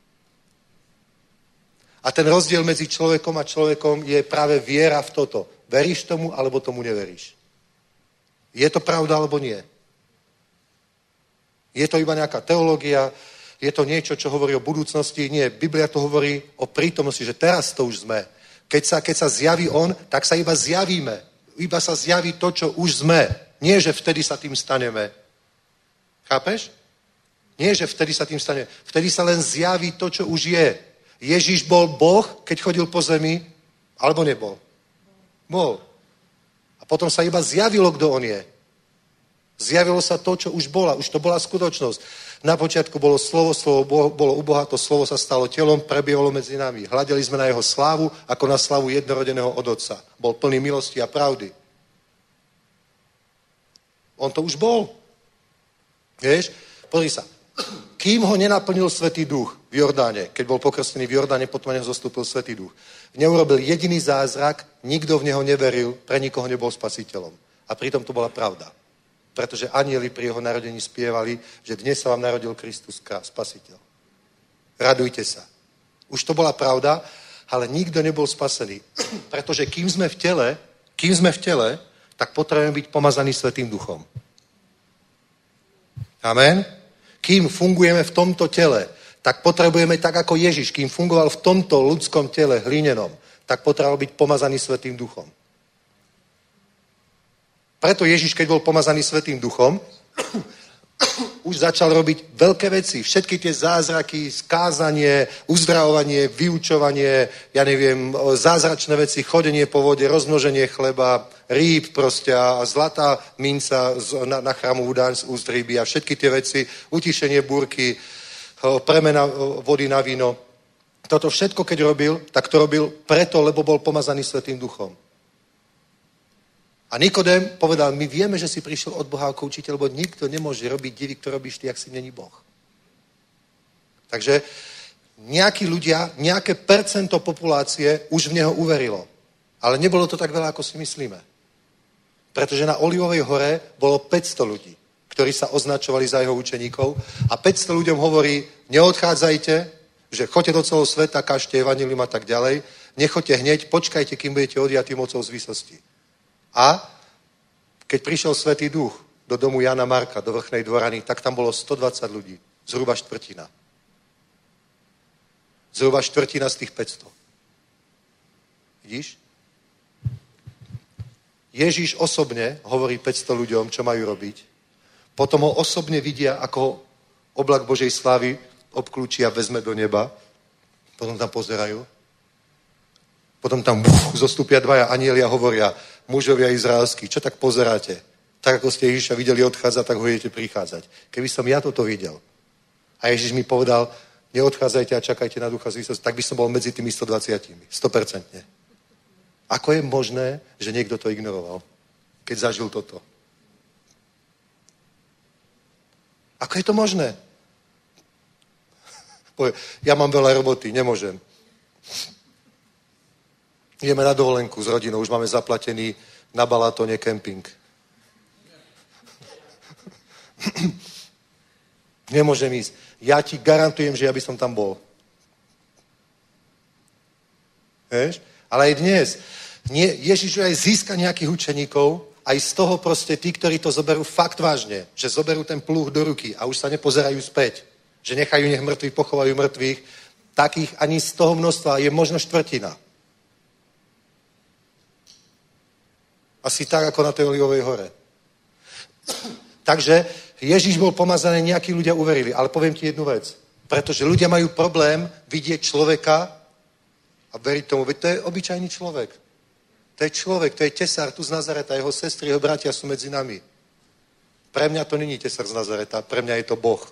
[SPEAKER 3] A ten rozdiel medzi človekom a človekom je práve viera v toto. Veríš tomu, alebo tomu neveríš? Je to pravda, alebo nie? Je to iba nejaká teológia? Je to niečo, čo hovorí o budúcnosti? Nie, Biblia to hovorí o prítomnosti, že teraz to už sme. Keď sa, keď sa zjaví on, tak sa iba zjavíme. Iba sa zjaví to, čo už sme. Nie, že vtedy sa tým staneme. Chápeš? Nie, že vtedy sa tým staneme. Vtedy sa len zjaví to, čo už je. Ježíš bol Boh, keď chodil po zemi, alebo nebol? Bol. A potom sa iba zjavilo, kto on je. Zjavilo sa to, čo už bola. Už to bola skutočnosť. Na počiatku bolo slovo, slovo bolo u Boha, to slovo sa stalo telom, prebiehalo medzi nami. Hľadeli sme na jeho slávu, ako na slávu jednorodeného od Otca. Bol plný milosti a pravdy. On to už bol. Vieš? Pozri sa. Kým ho nenaplnil Svätý Duch v Jordáne, keď bol pokrstený v Jordáne, potom neho zostúpil Svätý Duch. Neurobil jediný zázrak, nikto v neho neveril, pre nikoho nebol spasiteľom. A pritom to bola pravda. Pretože anjeli pri jeho narodení spievali, že dnes sa vám narodil Kristus, spasiteľ. Radujte sa. Už to bola pravda, ale nikto nebol spasený. Pretože kým sme v tele, kým sme v tele, tak potrebujeme byť pomazaní Svätým Duchom. Amen? Kým fungujeme v tomto tele, tak potrebujeme tak ako Ježiš, kým fungoval v tomto ľudskom tele hlínenom, tak potreboval byť pomazaný Svätým Duchom. Preto Ježiš, keď bol pomazaný Svätým Duchom, už začal robiť veľké veci. Všetky tie zázraky, skázanie, uzdravovanie, vyučovanie, ja neviem, zázračné veci, chodenie po vode, rozmnoženie chleba, rýb proste a zlatá minca na, na chrámovú daň z úst ryby a všetky tie veci, utišenie búrky, premena vody na víno. Toto všetko, keď robil, tak to robil preto, lebo bol pomazaný Svätým Duchom. A Nikodém povedal, my vieme, že si prišiel od Boha ako učiteľ, lebo nikto nemôže robiť divy, ktoré robíš ty, ak si není Boh. Takže nejakí ľudia, nejaké percento populácie už v neho uverilo. Ale nebolo to tak veľa, ako si myslíme. Pretože na Olivovej hore bolo päťsto ľudí, ktorí sa označovali za jeho učeníkov a päťsto ľuďom hovorí, neodchádzajte, že choďte do celého sveta, kážte evanjelium a tak ďalej, nechoďte hneď, počkajte, kým budete odjatí mocou z výsosti. A keď prišiel Svätý Duch do domu Jana Marka, do Vrchnej dvorany, tak tam bolo stodvadsať ľudí. Zhruba štvrtina. Zhruba štvrtina z tých päťsto. Vidíš? Ježíš osobne hovorí päťsto ľuďom, čo majú robiť. Potom ho osobne vidia, ako oblak Božej slávy obklúči a vezme do neba. Potom tam pozerajú. Potom tam buf, zostúpia dvaja anjeli a hovoria, mužovia izraelskí, čo tak pozeráte? Tak ako ste Ježiša videli odchádzať, tak ho idete prichádzať. Keby som ja toto videl a Ježiš mi povedal, neodchádzajte a čakajte na ducha z výsosti, tak by som bol medzi tými stodvadsiatimi. sto percent. Ako je možné, že niekto to ignoroval, keď zažil toto? Ako je to možné? Ja mám veľa roboty, nemôžem. Ideme na dovolenku s rodinou, už máme zaplatený na Balatone kemping. Nemôžem ísť. Ja ti garantujem, že ja by som tam bol. Vieš? Ale aj dnes. Nie, Ježiš aj získa nejakých učeníkov, aj z toho proste tí, ktorí to zoberú fakt vážne, že zoberú ten pluh do ruky a už sa nepozerajú späť, že nechajú nech mŕtvi pochovajú mŕtvych, takých ani z toho množstva je možno štvrtina. Asi tak, ako na tej Olivovej hore. Takže Ježiš bol pomazaný, nejakí ľudia uverili, ale poviem ti jednu vec. Pretože ľudia majú problém vidieť človeka a veriť tomu, veď to je obyčajný človek. To je človek, to je tesár tu z Nazareta, jeho sestry, jeho bratia sú medzi nami. Pre mňa to není tesár z Nazareta, pre mňa je to Boh.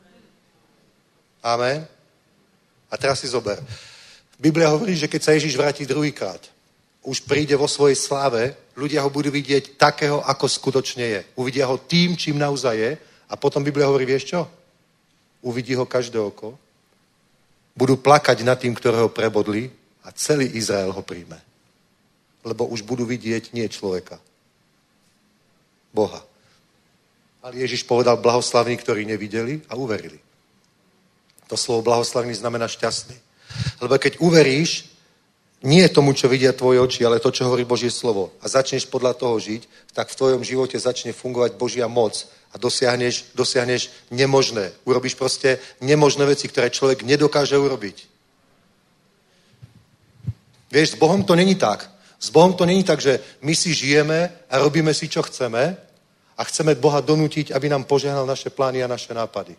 [SPEAKER 3] Amen. A teraz si zober. Biblia hovorí, že keď sa Ježiš vráti druhýkrát, už príde vo svojej sláve, ľudia ho budú vidieť takého, ako skutočne je. Uvidia ho tým, čím naozaj je a potom Biblia hovorí, vieš čo? Uvidí ho každé oko, budú plakať nad tým, ktorého prebodli a celý Izrael ho príjme. Lebo už budú vidieť nie človeka. Boha. Ale Ježiš povedal blahoslavní, ktorí nevideli a uverili. To slovo blahoslavný znamená šťastný. Lebo keď uveríš, nie tomu, čo vidia tvoje oči, ale to, čo hovorí Božie slovo a začneš podľa toho žiť, tak v tvojom živote začne fungovať Božia moc a dosiahneš, dosiahneš nemožné. Urobíš proste nemožné veci, ktoré človek nedokáže urobiť. Vieš, s Bohom to není tak. S Bohom to není tak, že my si žijeme a robíme si, čo chceme a chceme Boha donútiť, aby nám požehnal naše plány a naše nápady.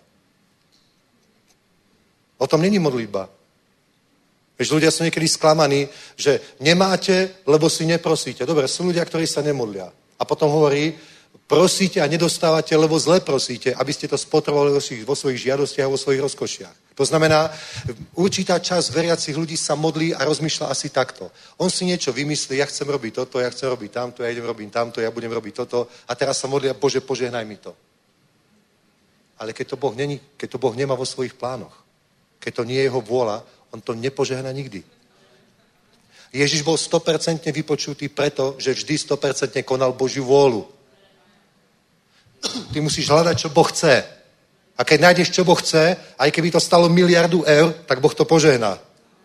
[SPEAKER 3] O tom není modlitba. Vieš, ľudia sú niekedy sklamaní, že nemáte, lebo si neprosíte. Dobre, sú ľudia, ktorí sa nemodlia. A potom hovorí, prosíte a nedostávate, lebo zle prosíte, aby ste to spotrebovali vo svojich žiadostiach a vo svojich rozkošiach. To znamená, určitá časť veriacich ľudí sa modlí a rozmýšľa asi takto. On si niečo vymyslí, ja chcem robiť toto, ja chcem robiť tamto, ja idem robiť tamto, ja budem robiť toto a teraz sa modlia, Bože, požehnaj mi to. Ale keď to Boh není, keď to Boh nemá vo svojich plánoch, keď to nie je jeho vôľa, on to nepožehná nikdy. Ježiš bol sto percent vypočutý preto, že vždy sto percent konal Božiu vôľu. Ty musíš hľadať, čo Boh chce. A keď nájdeš, čo Boh chce, aj keby to stalo miliardu eur, tak Boh to požehná.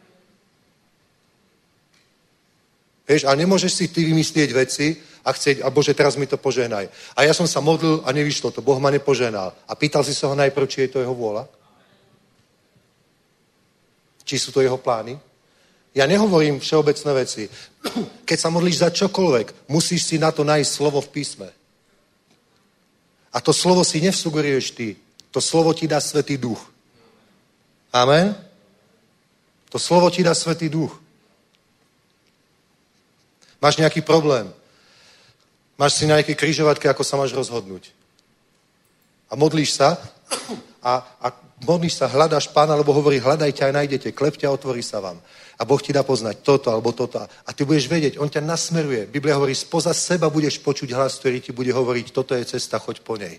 [SPEAKER 3] Vieš, a nemôžeš si ty vymyslieť veci a chcieť, a Bože, teraz mi to požehnaj. A ja som sa modlil a nevyšlo to, Boh ma nepožehnal. A pýtal si sa ho najprv, či je to jeho vôľa? Či sú to jeho plány? Ja nehovorím všeobecné veci. Keď sa modlíš za čokoľvek, musíš si na to nájsť slovo v písme. A to slovo si nevsugeruješ ty. To slovo ti dá Svätý Duch. Amen? To slovo ti dá Svätý Duch. Máš nejaký problém. Máš si na nejaké križovatke, ako sa máš rozhodnúť. A modlíš sa a, a modlíš sa, hľadáš Pána, lebo hovorí, hľadajte a nájdete, klepte a otvorí sa vám. A Boh ti dá poznať toto alebo toto. A ty budeš vedieť, on ťa nasmeruje. Biblia hovorí, spoza seba budeš počuť hlas, ktorý ti bude hovoriť, toto je cesta, choď po nej.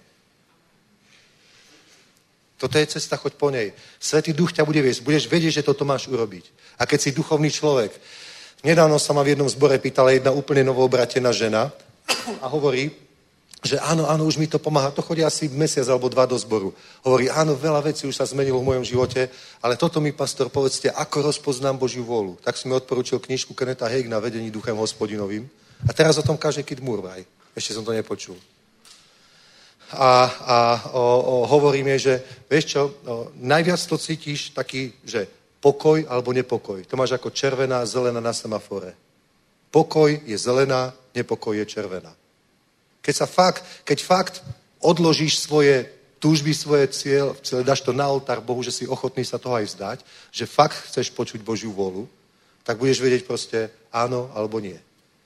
[SPEAKER 3] Toto je cesta, choď po nej. Svätý Duch ťa bude viesť. Budeš vedieť, že toto máš urobiť. A keď si duchovný človek, nedávno sa ma v jednom zbore pýtala jedna úplne novoobratená žena a hovorí, že áno, áno, už mi to pomáha. To chodí asi mesiac alebo dva do zboru. Hovorí, áno, veľa vecí už sa zmenilo v mojom živote, ale toto mi, pastor, povedzte, ako rozpoznám Božiu vôľu. Tak som mi odporučil knižku Kenneta Hagina Vedení duchem hospodinovým. A teraz o tom káže Kid Murray. Ešte som to nepočul. A, a o, o, hovorím je, že vieš čo, o, najviac to cítiš taký, že pokoj alebo nepokoj. To máš ako červená, zelená na semafore. Pokoj je zelená, nepokoj je červená. Keď sa fakt, keď fakt odložíš svoje túžby, svoje cieľ, dáš to na oltár Bohu, že si ochotný sa toho aj vzdať, že fakt chceš počuť Božiu vôľu, tak budeš vedieť proste áno alebo nie.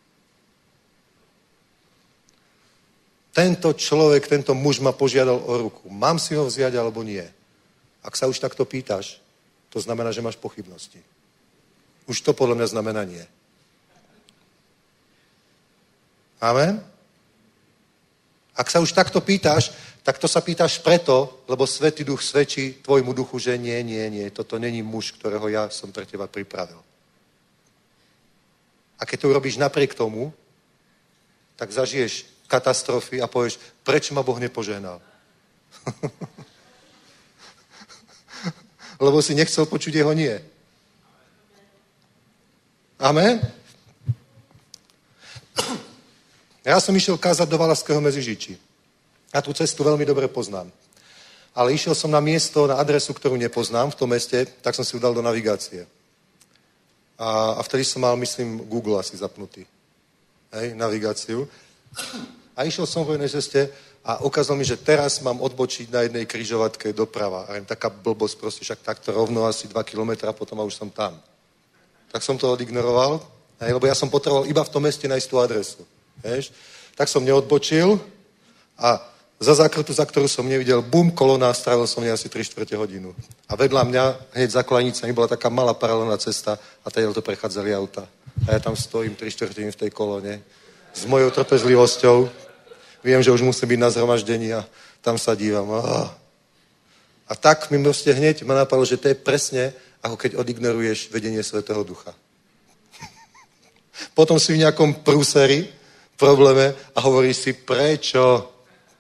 [SPEAKER 3] Tento človek, tento muž ma požiadal o ruku. Mám si ho vziať alebo nie? Ak sa už takto pýtaš, to znamená, že máš pochybnosti. Už to podľa mňa znamená nie. Amen? Ak sa už takto pýtaš, tak to sa pýtaš preto, lebo Svätý Duch svedčí tvojmu duchu, že nie, nie, nie, toto není muž, ktorého ja som pre teba pripravil. A keď to urobíš napriek tomu, tak zažiješ katastrofy a povieš, prečo ma Boh nepožehnal? Lebo si nechcel počuť jeho nie. Amen? Ja som išiel kázať do Valašského Meziříčí. Ja tú cestu veľmi dobre poznám. Ale išiel som na miesto, na adresu, ktorú nepoznám v tom meste, tak som si ju dal do navigácie. A, a vtedy som mal, myslím, Google asi zapnutý. Hej, navigáciu. A išiel som v jednej ceste a ukázal mi, že teraz mám odbočiť na jednej križovatke doprava. A jen taká blbosť, proste však takto rovno asi dva kilometra, potom a už som tam. Tak som to odignoroval, hej, lebo ja som potreboval iba v tom meste nájsť tú adresu. Hej. Tak som neodbočil a za zákrutu, za ktorú som nevidel, bum, kolona, strávil som nej asi tri štvrte hodinu. A vedľa mňa, hneď za kolenicami, bola taká malá paralelná cesta a tady to prechádzali auta. A ja tam stojím tri štvrtiny v tej kolone s mojou trpezlivosťou. Viem, že už musím byť na zhromaždení a tam sa dívam. Oh. A tak mi proste hneď ma napadlo, že to je presne, ako keď odignoruješ vedenie Svätého Ducha. Potom si v nejakom prúseri, probléme a hovoríš si, prečo?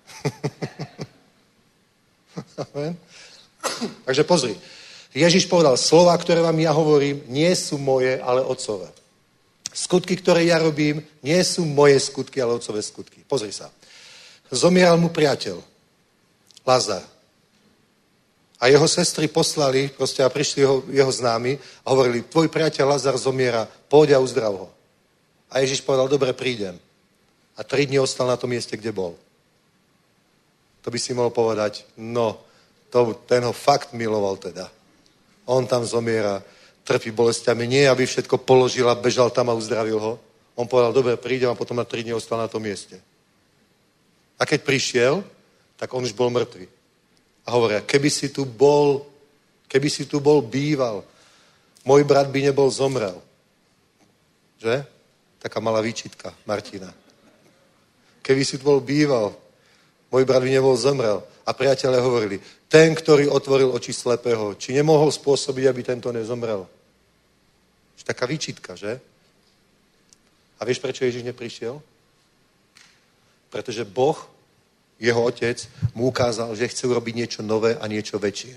[SPEAKER 3] Amen. Takže pozri. Ježiš povedal, slova, ktoré vám ja hovorím, nie sú moje, ale otcové. Skutky, ktoré ja robím, nie sú moje skutky, ale otcové skutky. Pozri sa. Zomieral mu priateľ, Lazar. A jeho sestry poslali, proste a prišli jeho, jeho známi a hovorili, tvoj priateľ Lazar zomiera, poď a uzdrav ho. A Ježiš povedal, dobre, prídem. A tri dni ostal na tom mieste, kde bol. To by si mohol povedať, no, to, ten ho fakt miloval teda. On tam zomiera, trpí bolestiami, nie aby všetko položil a bežal tam a uzdravil ho. On povedal, dobre, prídem a potom na tri dni ostal na tom mieste. A keď prišiel, tak on už bol mŕtvý. A hovoria, keby si tu bol, keby si tu bol býval, môj brat by nebol zomrel. Že? Taká malá výčitka Martina. Keby si tu bol býval, môj brat by nebol zomrel. A priatelia hovorili, ten, ktorý otvoril oči slepého, či nemohol spôsobiť, aby tento nezomrel. Taká výčitka, že? A vieš, prečo Ježiš neprišiel? Pretože Boh, jeho otec, mu ukázal, že chce urobiť niečo nové a niečo väčšie.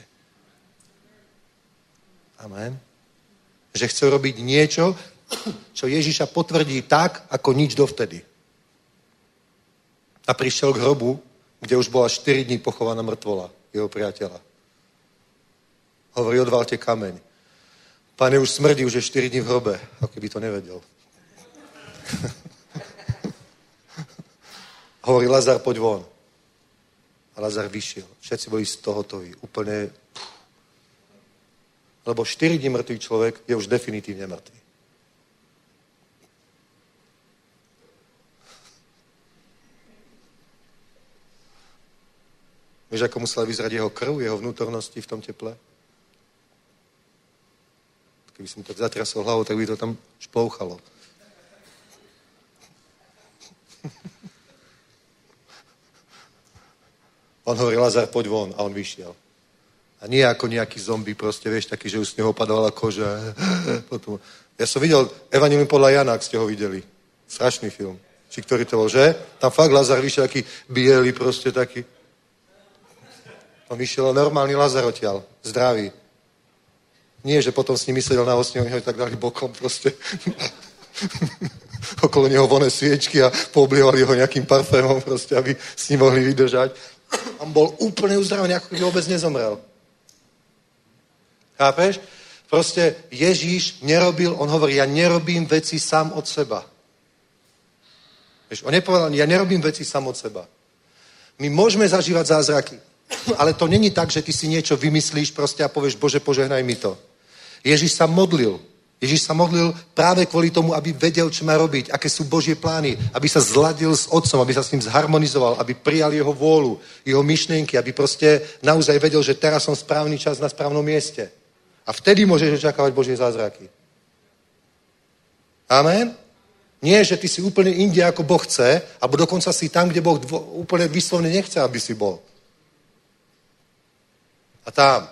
[SPEAKER 3] Amen. Že chce urobiť niečo, čo Ježiša potvrdí tak, ako nič dovtedy. A prišiel k hrobu, kde už bola štyri dní pochovaná mŕtvola jeho priateľa. Hovorí, odvalte kameň. Pane, už smrdí, už je štyri dní v hrobe. Ako keby to nevedel. Hovorí, Lazar, poď von. A Lazar vyšiel. Všetci boli z toho hotoví. Úplne... Lebo štyri dní mŕtvý človek je už definitívne mŕtvý. Vieš, ako musela vyzerať jeho krv, jeho vnútornosti v tom teple? Keby som tak zatrasol hlavou, tak by to tam šplouchalo. On hovorí, Lazar, poď von. A on vyšiel. A nie ako nejaký zombie, proste, vieš, taký, že už z neho opadovala koža. Potom. Ja som videl Evangelium podľa Jana, ak ste ho videli. Strašný film. Či ktorý to bol, že? Tam fakt Lazar vyšiel taký bielý, proste taký. On vyšiel normálny Lazar odtiaľ. Zdravý. Nie, že potom s ním sedel na osni, oni ho tak dali bokom proste. Okolo neho voné sviečky a pooblievali ho nejakým parfémom proste, aby s ním mohli vydržať. On bol úplne uzdravený, ako keby vôbec nezomrel. Chápeš? Proste Ježíš nerobil, on hovorí, ja nerobím veci sám od seba. Vieš, on nepovedal, ja nerobím veci sám od seba. My môžeme zažívať zázraky, ale to není tak, že ty si niečo vymyslíš proste a povieš, Bože, požehnaj mi to. Ježíš sa modlil. Ježíš sa modlil práve kvôli tomu, aby vedel, čo má robiť, aké sú Božie plány, aby sa zladil s Otcom, aby sa s ním zharmonizoval, aby prijal jeho vôľu, jeho myšlienky, aby proste naozaj vedel, že teraz som správny čas na správnom mieste. A vtedy môžeš očakávať Božie zázraky. Amen? Nie, že ty si úplne inde, ako Boh chce, alebo dokonca si tam, kde Boh dvo- úplne vyslovne nechce, aby si bol. A tam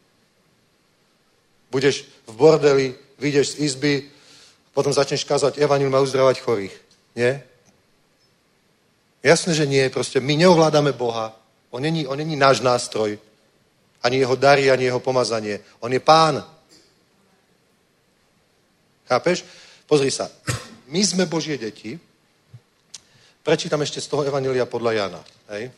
[SPEAKER 3] budeš v bordeli, vyjdeš z izby, potom začneš kázať evanjelium a uzdravať chorých. Nie? Jasné, že nie. Proste my neovládame Boha. On není, on není náš nástroj. Ani jeho dary, ani jeho pomazanie. On je Pán. Chápeš? Pozri sa. My sme Božie deti. Prečítam ešte z toho evanjelia podľa Jana. Hej?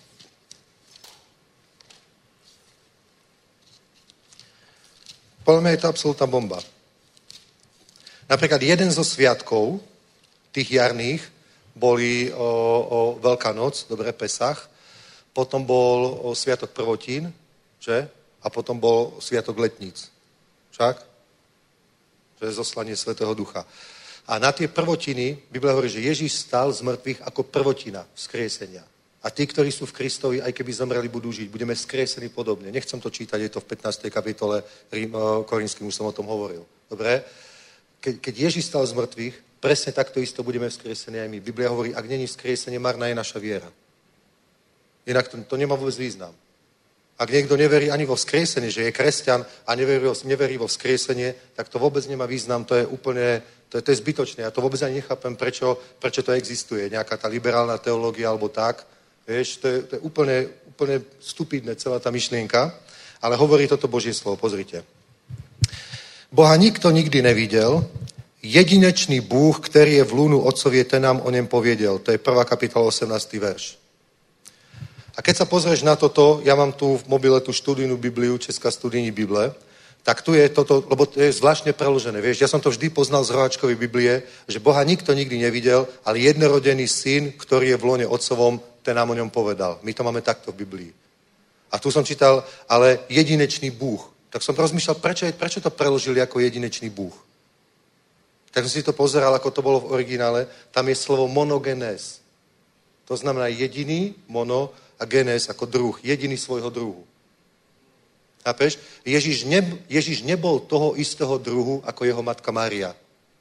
[SPEAKER 3] Podľa mňa je to absolútna bomba. Napríklad jeden zo sviatkov, tých jarných, boli o, o Veľká noc, dobre, Pesach, potom bol o sviatok prvotín, že? A potom bol sviatok letníc. Však? Že je zoslanie Svätého Ducha. A na tie prvotiny, Biblia hovorí, že Ježíš stal z mŕtvych ako prvotina vzkriesenia. A tí, ktorí sú v Kristovi, aj keby zomreli, budú žiť. Budeme vzkriesení podobne. Nechcem to čítať, je to v pätnástej kapitole Korinským, už som o tom hovoril. Dobre? Ke, keď Ježíš stal z mŕtvych, presne takto isto budeme vzkriesení aj my. Biblia hovorí, ak není vzkriesenie, marná je naša viera. Inak to, to nemá vôbec význam. Ak niekto neverí ani vo vzkriesenie, že je kresťan a neverí, neverí vo vzkriesenie, tak to vôbec nemá význam, to je úplne, to je, to je zbytočné. Ja to vôbec ani nechápem, prečo, prečo to existuje. Nejaká tá liberálna teológia alebo tak. Vieš, to je, to je úplne, úplne stupidné, celá tá myšlienka. Ale hovorí toto Božie slovo, pozrite. Boha nikto nikdy nevidel, jedinečný Bůh, který je v lúnu otcovie, ten nám o něm pověděl. To je prvá kapitola, osemnásty verš. A keď sa pozrieš na toto, ja mám tu v mobile tú študijnú Bibliu, Česká studijní Bible, tak tu je toto, lebo to je zvláštne preložené. Vieš, ja som to vždy poznal z Roháčkovej Biblie, že Boha nikto nikdy nevidel, ale jednorodený syn, ktorý je v lone otcovom, ten nám o ňom povedal. My to máme takto v Biblii. A tu som čítal, ale jedinečný Bůh. Tak som rozmýšľal, prečo, je, prečo to preložili ako jedinečný Bůh. Tak som si to pozeral, ako to bolo v originále. Tam je slovo monogenes. To znamená jediný, mono a genes ako druh. Jediný svojho druhu. Chápeš? Ježiš, ne, Ježiš nebol toho istého druhu ako jeho matka Mária.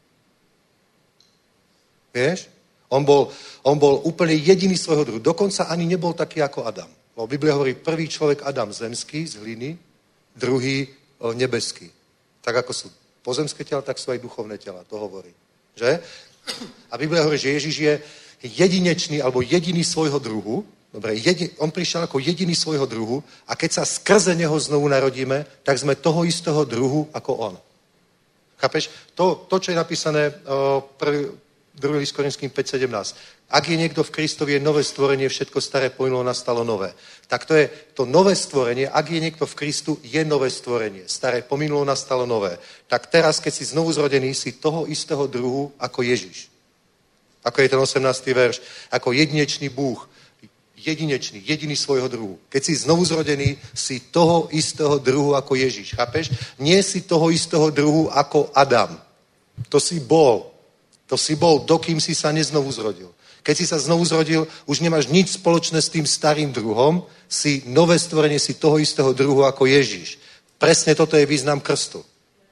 [SPEAKER 3] Vieš? On bol, on bol úplne jediný svojho druhu. Dokonca ani nebol taký ako Adam. Lebo Biblia hovorí, prvý človek Adam zemský z hliny, druhý o, nebeský. Tak ako sú pozemské tela, tak sú aj duchovné tela. To hovorí. Že? A Biblia hovorí, že Ježiš je jedinečný alebo jediný svojho druhu. Dobre, jedi, on prišiel ako jediný svojho druhu a keď sa skrze neho znovu narodíme, tak sme toho istého druhu ako on. Chápeš? To, to čo je napísané o, prvý, druhý list Korinským päť sedemnásť. Ak je niekto v Kristovi, je nové stvorenie, všetko staré pominulo, nastalo nové. Tak to je to nové stvorenie, ak je niekto v Kristu, je nové stvorenie. Staré pominulo, nastalo nové. Tak teraz, keď si znovu zrodený, si toho istého druhu ako Ježiš. Ako je ten osemnásty verš. Ako jedinečný Bůh. Jedinečný, jediný svojho druhu. Keď si znovu zrodený, si toho istého druhu ako Ježiš. Chápeš? Nie si toho istého druhu ako Adam. To si bol. To si bol, dokým si sa neznovu zrodil. Keď si sa znovu zrodil, už nemáš nič spoločné s tým starým druhom, si nové stvorenie, si toho istého druhu ako Ježiš. Presne toto je význam krstu.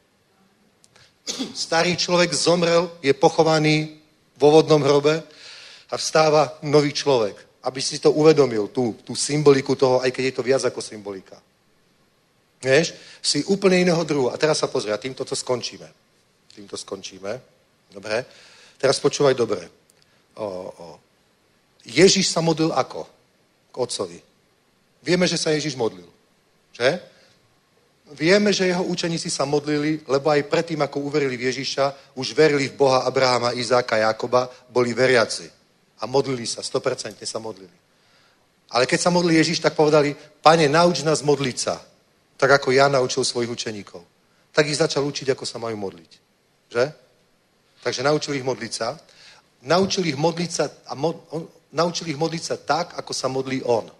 [SPEAKER 3] Starý človek zomrel, je pochovaný vo vodnom hrobe a vstáva nový človek. Aby si to uvedomil, tú, tú symboliku toho, aj keď je to viac ako symbolika. Vieš? Si úplne iného druhu. A teraz sa pozri, a týmto to skončíme. Týmto skončíme. Dobre? Teraz počúvaj dobre. O, o. Ježiš sa modlil ako? K otcovi. Vieme, že sa Ježiš modlil. Že? Vieme, že jeho učeníci sa modlili, lebo aj predtým, ako uverili v Ježiša, už verili v Boha Abrahama, Izáka, Jakoba, boli veriaci. A modlili sa, sto percent sa modlili. Ale keď sa modlil Ježiš, tak povedali, Pane, nauč nás modliť sa. Tak ako ja naučil svojich učeníkov. Tak ich začal učiť, ako sa majú modliť. Že? Takže naučil ich modliť sa. Naučil ich modliť sa a mo, on, naučil ich modliť sa tak, ako sa modlí on.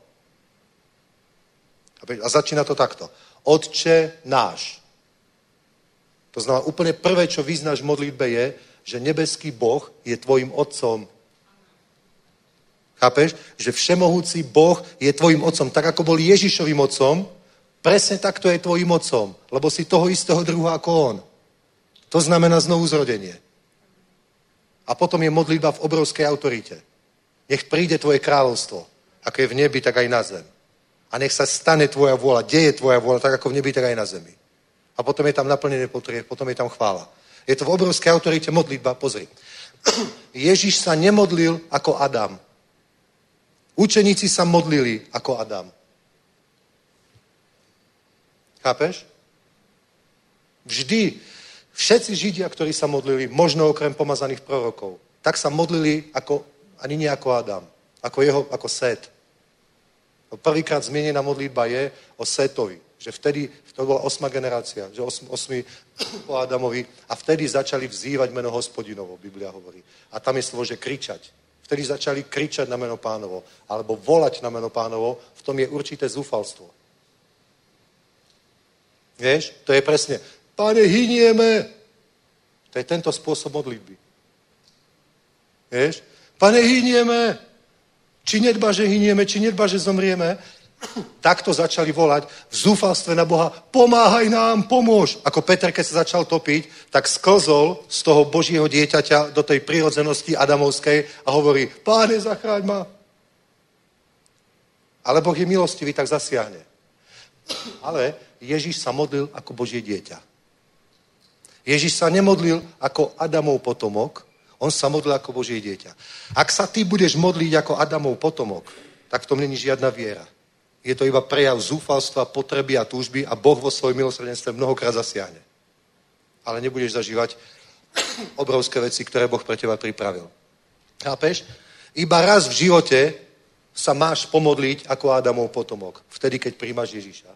[SPEAKER 3] A začína to takto. Otče náš. To znamená, úplne prvé, čo vyznáš v modlitbe je, že nebeský Boh je tvojim otcom. Chápeš? Že všemohúci Boh je tvojim otcom. Tak, ako bol Ježišovým otcom, presne takto je tvojim otcom. Lebo si toho istého druha ako on. To znamená znovu zrodenie. A potom je modlitba v obrovskej autorite. Nech príde tvoje kráľovstvo. Ako je v nebi, tak aj na zem. A nech sa stane tvoja vôľa, deje tvoja vôľa, tak ako v nebi, tak aj na zemi. A potom je tam naplnené potrieb, potom je tam chvála. Je to v obrovskej autorite modlitba, pozri. Ježiš sa nemodlil ako Adam. Učeníci sa modlili ako Adam. Chápeš? Vždy, všetci Židia, ktorí sa modlili, možno okrem pomazaných prorokov, tak sa modlili ako, ani nie ako Adam, ako jeho, ako Sét. Prvýkrát zmienená modlitba je o Sétovi, že vtedy, to bola osma generácia, že osm, osmi po Adamovi a vtedy začali vzývať meno Hospodinovo, Biblia hovorí. A tam je slovo, že kričať. Vtedy začali kričať na meno Pánovo, alebo volať na meno Pánovo, v tom je určité zúfalstvo. Vieš, to je presne, Pane, hynieme. To je tento spôsob modlitby. Vieš, Pane, hynieme. Či nedba, že hynieme, či nedba, že zomrieme. Takto začali volať v zúfalstve na Boha, pomáhaj nám, pomôž. Ako Peter, keď sa začal topiť, tak sklzol z toho Božieho dieťaťa do tej prirodzenosti adamovskej a hovorí, Páne, zachráň ma. Ale Boh je milostivý, tak zasiahne. Ale Ježiš sa modlil ako Božie dieťa. Ježiš sa nemodlil ako Adamov potomok, on sa modlil ako Božie dieťa. Ak sa ty budeš modliť ako Adamov potomok, tak v tom není žiadna viera. Je to iba prejav zúfalstva, potreby a túžby a Boh vo svojom milosrdenstve mnohokrát zasiahne. Ale nebudeš zažívať obrovské veci, ktoré Boh pre teba pripravil. Chápeš? Iba raz v živote sa máš pomodliť ako Adamov potomok. Vtedy, keď príjmaš Ježiša.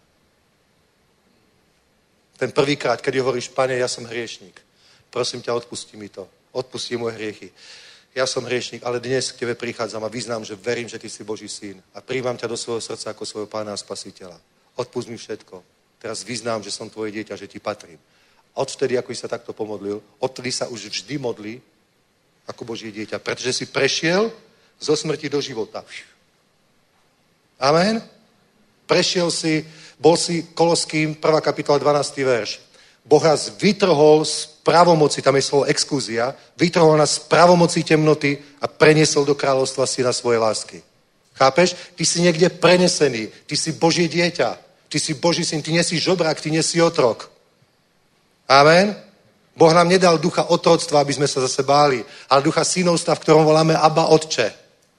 [SPEAKER 3] Ten prvýkrát, keď hovoríš, Pane, ja som hriešník. Prosím ťa, odpusti mi to. Odpustí moje hriechy. Ja som hriešník, ale dnes k tebe prichádzam a vyznám, že verím, že ty si Boží syn. A príjmam ťa do svojho srdca ako svojho pána a spasiteľa. Odpust mi všetko. Teraz vyznám, že som tvoje dieťa, že ti patrím. Odvtedy, ako si sa takto pomodlil, odtedy sa už vždy modlí ako Božie dieťa. Pretože si prešiel zo smrti do života. Amen? Prešiel si, bol si Koloským, prvá kapitola, dvanásty verš. Boh nás vytrhol z pravomoci, tam je slovo exkúzia, vytrhol nás z pravomoci temnoty a preniesol do kráľovstva syna svojej lásky. Chápeš? Ty si niekde prenesený, ty si Božie dieťa, ty si Boží syn, ty nie si žobrák, ty nie si otrok. Amen? Boh nám nedal ducha otroctva, aby sme sa zase báli, ale ducha synovstva, v ktorom voláme Abba, Otče.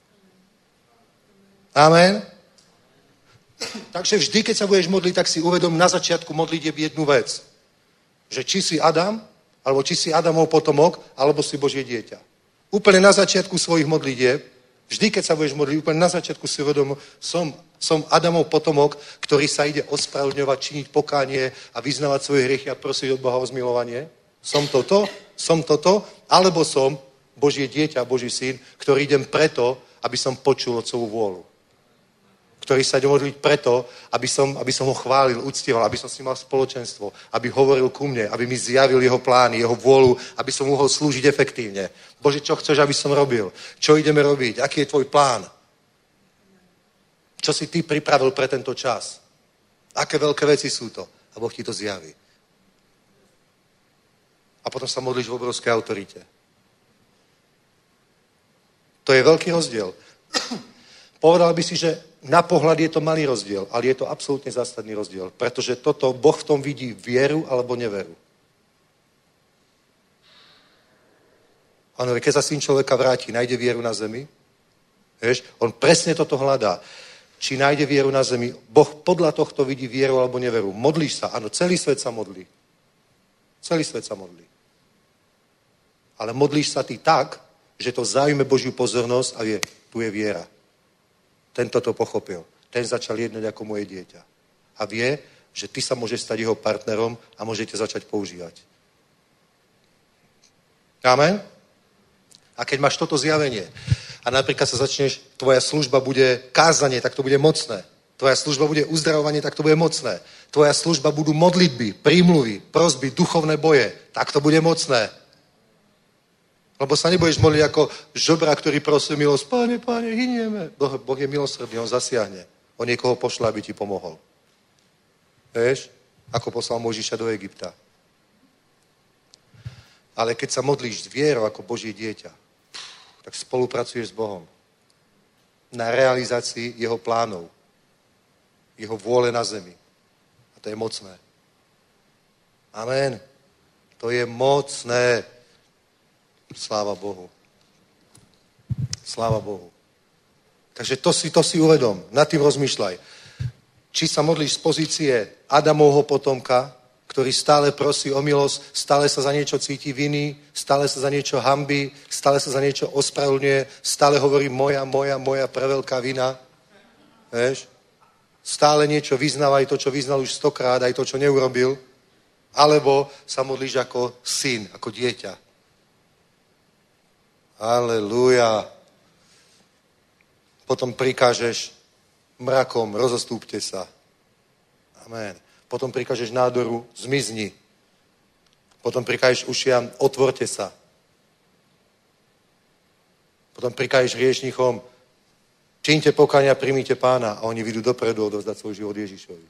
[SPEAKER 3] Amen? Takže vždy, keď sa budeš modliť, tak si uvedom na začiatku modlitieb jednu vec. Že či si Adam, alebo či si Adamov potomok, alebo si Božie dieťa. Úplne na začiatku svojich modlitieb, vždy, keď sa budeš modliť, úplne na začiatku si uvedom, som, som Adamov potomok, ktorý sa ide ospravedlňovať, činiť pokánie a vyznávať svoje hriechy a prosiť od Boha o zmilovanie. Som toto, som toto, alebo som Božie dieťa, Boží syn, ktorý idem preto, aby som počul otcovú vôľu. Ktorý sa ide modliť preto, aby som, aby som ho chválil, uctieval, aby som s ním mal spoločenstvo, aby hovoril ku mne, aby mi zjavil jeho plány, jeho vôľu, aby som mohol slúžiť efektívne. Bože, čo chceš, aby som robil? Čo ideme robiť? Aký je tvoj plán? Čo si ty pripravil pre tento čas? Aké veľké veci sú to? A Boh ti to zjaví. A potom sa modlíš v obrovskej autorite. To je veľký rozdiel. Povedal by si, že na pohľad je to malý rozdiel, ale je to absolútne zásadný rozdiel, pretože toto Boh v tom vidí vieru alebo neveru. Áno, keď sa syn človeka vráti, nájde vieru na zemi, vieš, on presne toto hľadá. Či nájde vieru na zemi, Boh podľa tohto vidí vieru alebo neveru. Modlíš sa, áno, celý svet sa modlí. Celý svet sa modlí. Ale modlíš sa ty tak, že to zájme Božiu pozornosť a vie, tu je viera. Tento to pochopil. Ten začal jednať ako moje dieťa. A vie, že ty sa môžeš stať jeho partnerom a môžete začať používať. Amen? A keď máš toto zjavenie a napríklad sa začneš, tvoja služba bude kázanie, tak to bude mocné. Tvoja služba bude uzdravovanie, tak to bude mocné. Tvoja služba budú modlitby, prímluvy, prosby, duchovné boje, tak to bude mocné. Lebo sa nebudeš modliť ako žobra, ktorý prosí milosť. Páne, páne, hynieme. Boh, boh je milosrdný, on zasiahne. On niekoho pošle, aby ti pomohol. Vieš? Ako poslal Mojžiša do Egypta. Ale keď sa modlíš s vierou ako Božie dieťa, tak spolupracuješ s Bohom na realizácii jeho plánov. jeho vôle na zemi. A to je mocné. Amen. To je mocné. Sláva Bohu. Sláva Bohu. Takže to si, to si uvedom. Nad tým rozmýšľaj. Či sa modlíš z pozície Adamovho potomka, ktorý stále prosí o milosť, stále sa za niečo cíti viny, stále sa za niečo hanbí, stále sa za niečo ospravedlňuje, stále hovorí moja, moja, moja preveľká vina. Vieš? Stále niečo vyznáva, aj to, čo vyznal už stokrát, aj to, čo neurobil. Alebo sa modlíš ako syn, ako dieťa. Halelúja. Potom prikážeš mrakom, rozostúpte sa. Amen. Potom prikážeš nádoru, zmizni. Potom prikážeš ušiam, otvorte sa. Potom prikážeš hriešnichom, čiňte pokánia, primíte Pána a oni vyjdú dopredu odovzdať svoj život Ježišovi.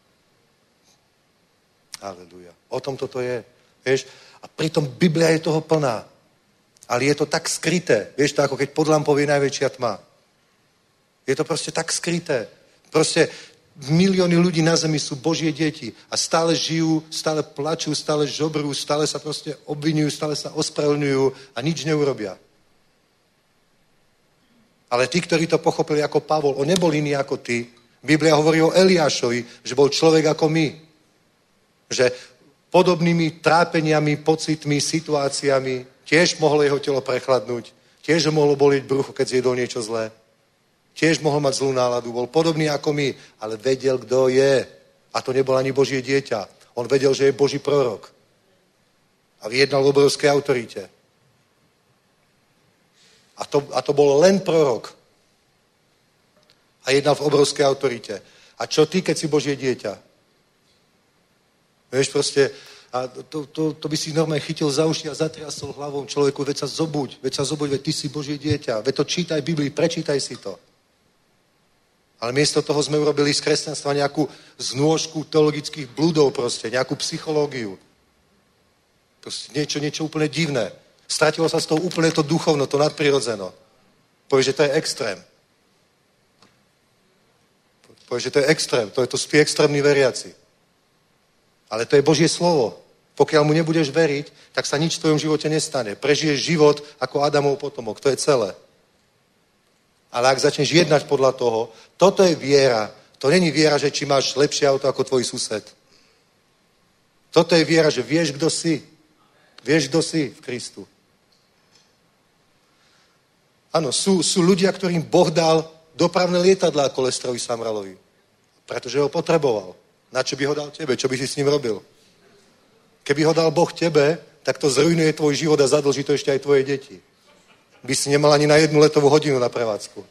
[SPEAKER 3] Aleluja. O tom toto je. Vieš? A pritom Biblia je toho plná. Ale je to tak skryté. Vieš to, ako keď pod lampou je najväčšia tma. Je to proste tak skryté. Proste milióny ľudí na zemi sú Božie deti a stále žijú, stále plačú, stále žobrú, stále sa proste obvinujú, stále sa ospravedlňujú a nič neurobia. Ale tí, ktorí to pochopili ako Pavol, on nebol iný ako ty. Biblia hovorí o Eliášovi, že bol človek ako my. Že podobnými trápeniami, pocitmi, situáciami tiež mohlo jeho telo prechladnúť, tiež ho mohlo bolieť brucho, keď zjedol niečo zlé. Tiež mohol mať zlú náladu, bol podobný ako my, ale vedel, kto je. A to nebol ani Božie dieťa. On vedel, že je Boží prorok. A vyjednal v obrovskej autorite. A to, a to bol len prorok. A jednal v obrovskej autorite. A čo ty, keď si Božie dieťa? Vieš, proste, a to, to, to by si normálne chytil za uši a zatriasol hlavou človeku, veď sa zobuď, veď sa zobuď, veď ty si Božie dieťa, veď to čítaj Biblii, prečítaj si to. Ale miesto toho sme urobili z kresťanstva nejakú znôžku teologických blúdov proste, nejakú psychológiu. Proste niečo, niečo úplne divné. Stratilo sa z toho úplne to duchovno, to nadprirodzeno. Povieš, že to je extrém. Povieš, že to je extrém, to je to spí extrémni veriaci. Ale to je Božie slovo. Pokiaľ mu nebudeš veriť, tak sa nič v tvojom živote nestane. Prežiješ život ako Adamov potomok, to je celé. Ale ak začneš jednať podľa toho, toto je viera. To není viera, že či máš lepšie auto ako tvoj sused. Toto je viera, že vieš, kto si. Vieš, kto si v Kristu. Áno, sú, sú ľudia, ktorým Boh dal dopravné lietadlá ako Lestrovi Samralovi. Pretože ho potreboval. Na čo by ho dal tebe? Čo by si s ním robil? Keby ho dal Boh tebe, tak to zrujnuje tvoj život a zadlží to ešte aj tvoje deti. By si nemal ani na jednu letovú hodinu na prevádzku.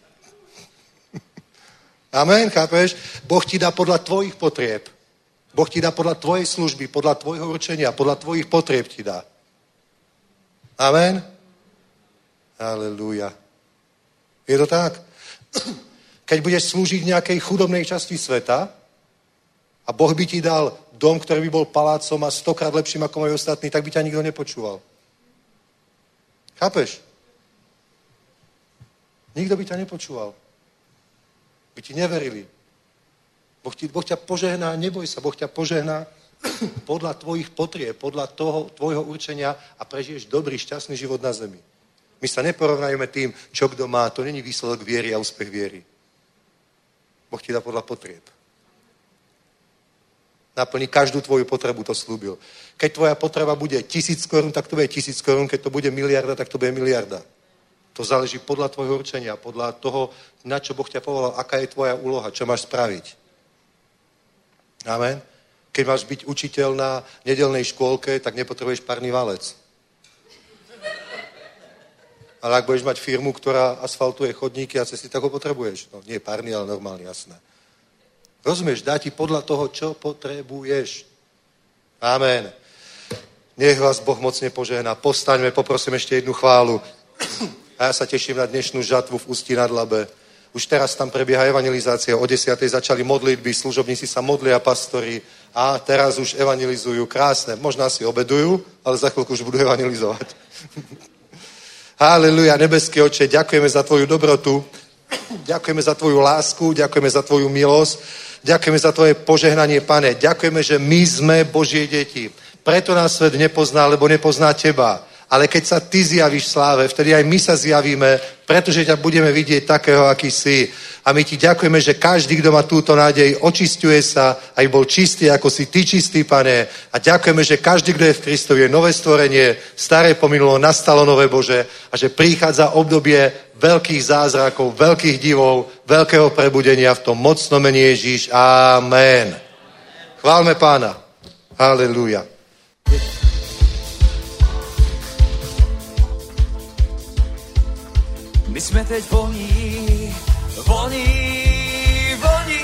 [SPEAKER 3] Amen, chápeš? Boh ti dá podľa tvojich potrieb. Boh ti dá podľa tvojej služby, podľa tvojho určenia, podľa tvojich potrieb ti dá. Amen? Halelúja. Je to tak? Keď budeš slúžiť v nejakej chudobnej časti sveta a Boh by ti dal dom, ktorý by bol palácom a stokrát lepším ako majú ostatní, tak by ťa nikto nepočúval. Chápeš? Nikto by ťa nepočúval. By ti neverili. Boh, ti, boh ťa požehná, neboj sa, Boh ťa požehná podľa tvojich potrieb, podľa toho tvojho určenia a prežiješ dobrý, šťastný život na zemi. My sa neporovnajme tým, čo kto má. To není výsledok viery a úspech viery. Boh ti dá podľa potrieb. Naplní každú tvoju potrebu, to slúbil. Keď tvoja potreba bude tisíc korún, tak to bude tisíc korún. Keď to bude miliarda, tak to bude miliarda. To záleží podľa tvojho určenia, podľa toho, na čo Boh ťa povolal, aká je tvoja úloha, čo máš spraviť. Amen. Keď máš byť učiteľ na nedeľnej škôlke, tak nepotrebuješ párny valec. Ale ak budeš mať firmu, ktorá asfaltuje chodníky a cesty, tak ho potrebuješ. No, nie párny, ale normálny, jasné. Rozumieš, dá ti podľa toho, čo potrebuješ. Amen. Nech vás Boh mocne požehná. Postaňme, poprosím ešte jednu chválu. A ja sa teším na dnešnú žatvu v Ústí nad Labe. Už teraz tam prebieha evangelizácia. O desiatej začali modlitby, služobníci sa modlia, pastori. A teraz už evangelizujú. Krásne. Možno si obedujú, ale za chvíľku už budú evangelizovať. Haleluja, nebeský Oče, ďakujeme za tvoju dobrotu. Ďakujeme za tvoju lásku, ďakujeme za tvoju milosť. Ďakujeme za tvoje požehnanie, Pane. Ďakujeme, že my sme Božie deti. Preto nás svet nepozná, lebo nepozná teba. Ale keď sa ty zjavíš v sláve, vtedy aj my sa zjavíme, pretože ťa budeme vidieť takého, aký si. A my ti ďakujeme, že každý, kto má túto nádej, očisťuje sa, aj bol čistý, ako si ty čistý, Pane. A ďakujeme, že každý, kto je v Kristovi, je nové stvorenie, staré pominulo, nastalo nové, Bože, a že prichádza obdobie veľkých zázrakov, veľkých divov, veľkého prebudenia v tom mocnom mene Ježíš. Amen. Chválme Pána. Halelúja.
[SPEAKER 1] My jsme teď voní, voní, voní.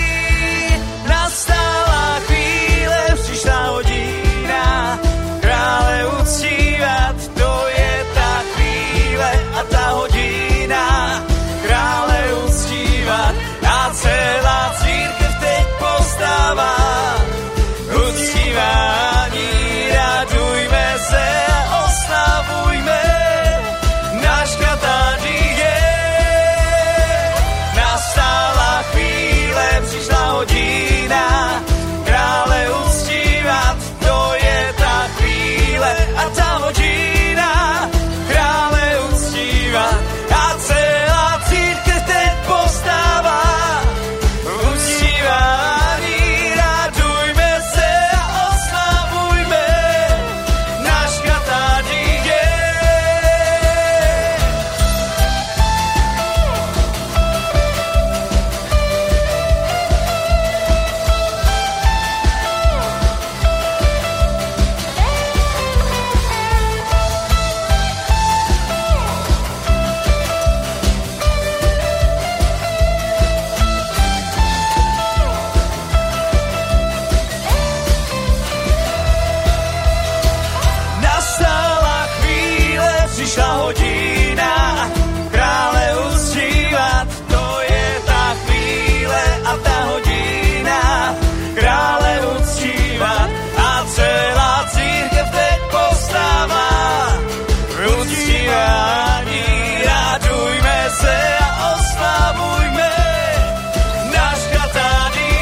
[SPEAKER 1] Nastala chvíle, přišla hodina, krále uctívat, to je ta chvíle a ta hodina, krále uctívat a celá církev teď povstává. Uctívání, radujme se a oslavujme náš Katáří. Přišla hodina, krále uctívat, to je ta chvíle a ta hodina, krále uctívat a celá církev teď povstává. Uctívání, radujme se a oslavujme náš Katáří. Přišla hodina, krále uctívat, to je ta chvíle a ta hodina, krále uctívat a celá církev teď povstává. Uctívání, radujme se a oslavujme náš Katáří.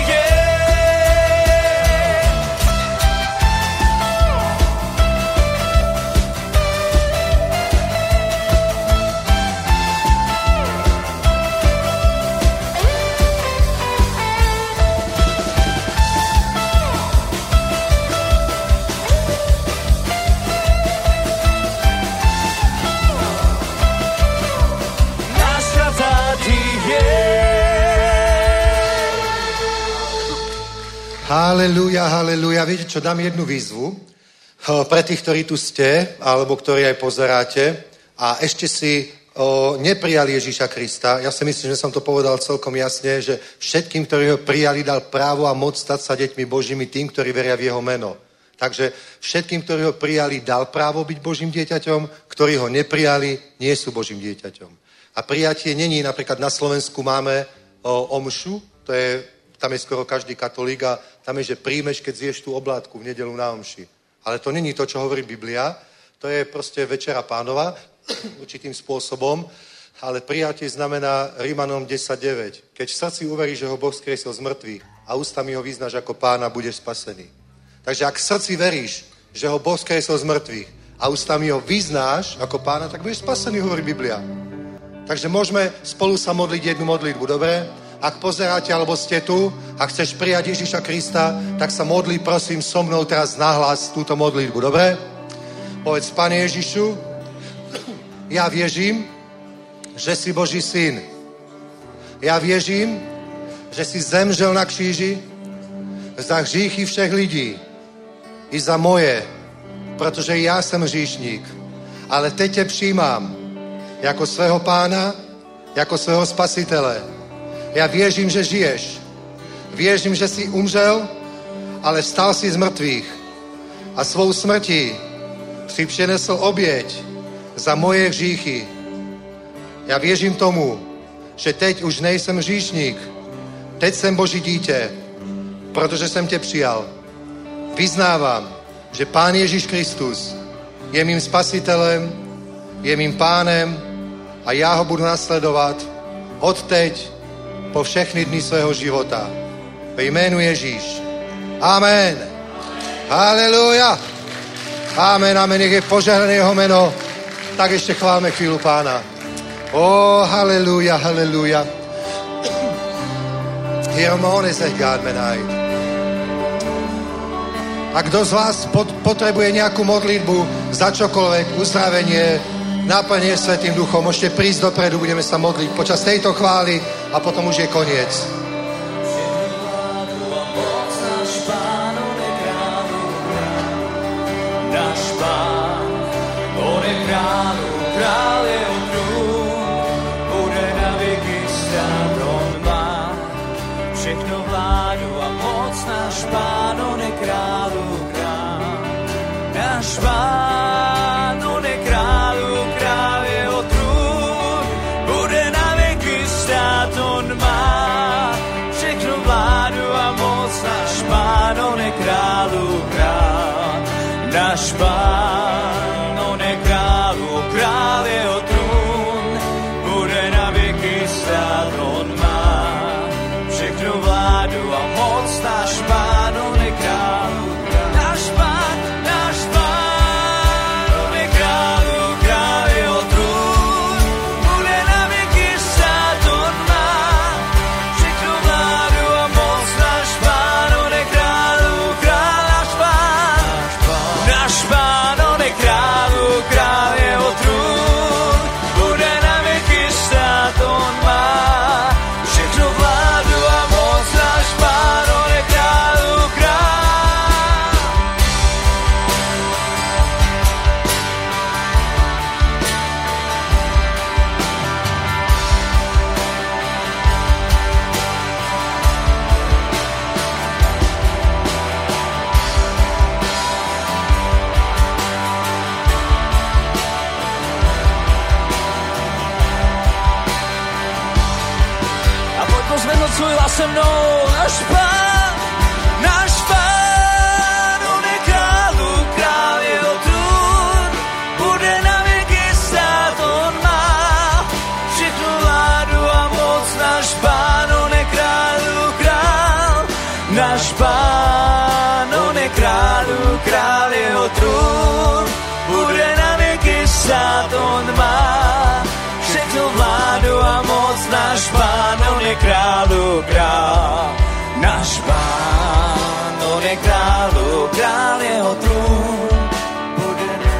[SPEAKER 3] Halelúja, halelúja. Viete čo, dám jednu výzvu pre tých, ktorí tu ste, alebo ktorí aj pozeráte a ešte si o, neprijali Ježíša Krista. Ja si myslím, že som to povedal celkom jasne, že všetkým, ktorí ho prijali, dal právo a moc stať sa deťmi Božími tým, ktorí veria v jeho meno. Takže všetkým, ktorí ho prijali, dal právo byť Božím dieťaťom, ktorí ho neprijali, nie sú Božím dieťaťom. A prijatie není, napríklad na Slovensku máme o, omšu, to je, tam je skoro každý katolík a tam je, že príjmeš, keď zješ tú oblátku v nedelu na omši. Ale to není to, čo hovorí Biblia, to je proste večera Pánova, určitým spôsobom, ale prijatie znamená Rímanom desať deväť. Keď v srdci uveríš, že ho Boh skriesil z mŕtvych a ústami ho vyznáš ako Pána, budeš spasený. Takže ak v srdci veríš, že ho Boh skriesil z mŕtvych a ústami ho vyznáš ako Pána, tak budeš spasený, hovorí Biblia. Takže môžeme spolu sa modliť jednu modlitbu, dobre? Ak pozeráte, alebo ste tu a chceš prijať Ježíša Krista, tak sa modlí, prosím, so mnou teraz nahlas túto modlitbu, dobre? Povedz, Pane Ježišu, ja vieřím, že si Boží syn. Ja věřím, že si zemřel na kříži za hříchy všech lidí i za moje, protože já jsem hříšník. Ale teď tě přijímám jako svého Pána, jako svého Spasitele. Já věřím, že žiješ. Věřím, že jsi umřel, ale vstal si z mrtvých a svou smrtí si přinesl oběť za moje hříchy. Já věřím tomu, že teď už nejsem hříšník. Teď jsem Boží dítě, protože jsem tě přijal. Vyznávám, že Pán Ježíš Kristus je mým spasitelem, je mým pánem a já ho budu nasledovat od teď po všechny dny svého života. Ve jménu Ježíš. Amen. Haleluja. Amen, amen. Nech je požehnané jeho jméno. Tak ještě chválme chvíli Pána. O, haleluja, haleluja. Hirmone se gádmenaj. A kdo z vás pot, potrebuje nějakou modlitbu za čokoľvek, uzdravenie, náplně Svätým Duchom, môžete prísť dopredu, budeme sa modliť počas tejto chvály a potom už je koniec.
[SPEAKER 1] Pán, on je kráľu král. Náš Pán, on je kráľu král, jeho trůn bude na věky stát, on má všechnu vládu a moc. Náš Pán, on je kráľu král. Náš Pán, on je kráľu král, jeho trůn bude na věky stát, on má všechnu vládu a moc. Náš Pán, on je kráľu král. Náš Pán, náš Pán, on je kráľu král, jeho trůn bude na věky stát, on má všechnu vládu a moc. Náš Pán, on je kráľu král. Náš Pán, náš Pán, on je kráľu král, jeho trůn bude na věky stát, on má všechnu vládu a moc. Náš Pán, on je kráľu král. A pojď pozvednout svůj hlas se mnou. Náš Pán, náš Pán, on je kráľu král, jeho trůn bude na věky stát, on má všechnu vládu a moc. Náš Pán, on je kráľu král. Náš Pán, on je kráľu král, jeho trůn bude na věky stát, on má všechnu vládu a moc. Náš Pán, on je kráľu král. Náš Pán, on je kráľu král, jeho trůn bude na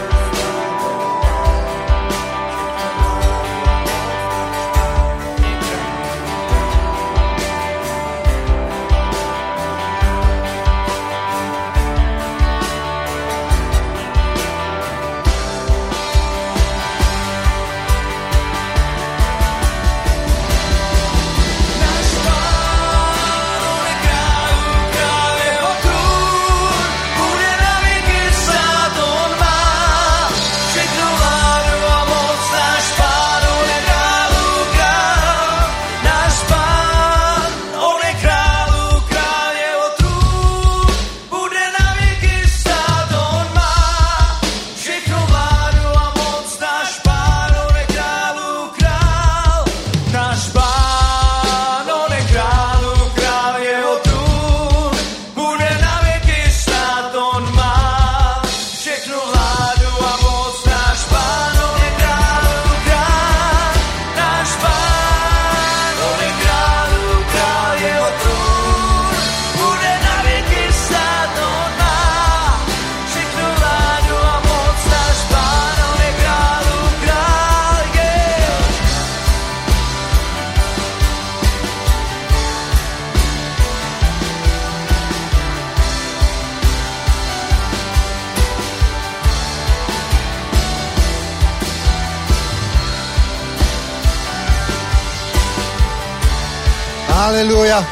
[SPEAKER 3] Haleluja.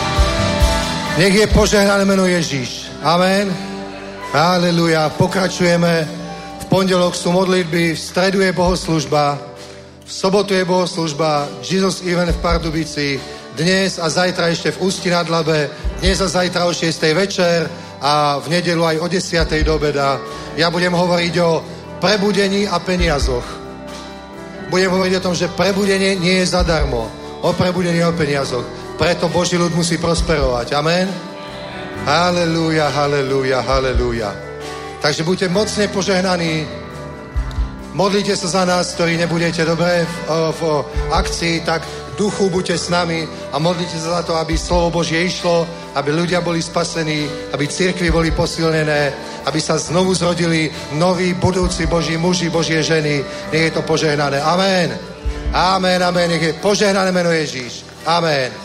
[SPEAKER 3] Nech je požehnané meno Ježíš. Amen. Haleluja. Pokračujeme. V pondelok sú modlitby, v stredu je bohoslužba, v sobotu je bohoslužba Jesus Event v Pardubici, dnes a zajtra ešte v Ústí nad Labe, dnes a zajtra o šiestej večer a v nedelu aj o desiatej do obeda. Ja budem hovoriť o prebudení a peniazoch. Budem hovoriť o tom, že prebudenie nie je zadarmo. O prebudení a o peniazoch. preto Boží ľud musí prosperovať. Amen? Halelúja, halelúja, halelúja. Takže buďte mocne požehnaní. Modlite sa za nás, ktorí nebudete dobre v, v akcii, tak v duchu buďte s nami a modlite sa za to, aby slovo Božie išlo, aby ľudia boli spasení, aby cirkvi boli posilnené, aby sa znovu zrodili noví, budúci Boží muži, Božie ženy. Nech je to požehnané. Amen. Amen, amen. Nech je požehnané meno Ježíš. Amen.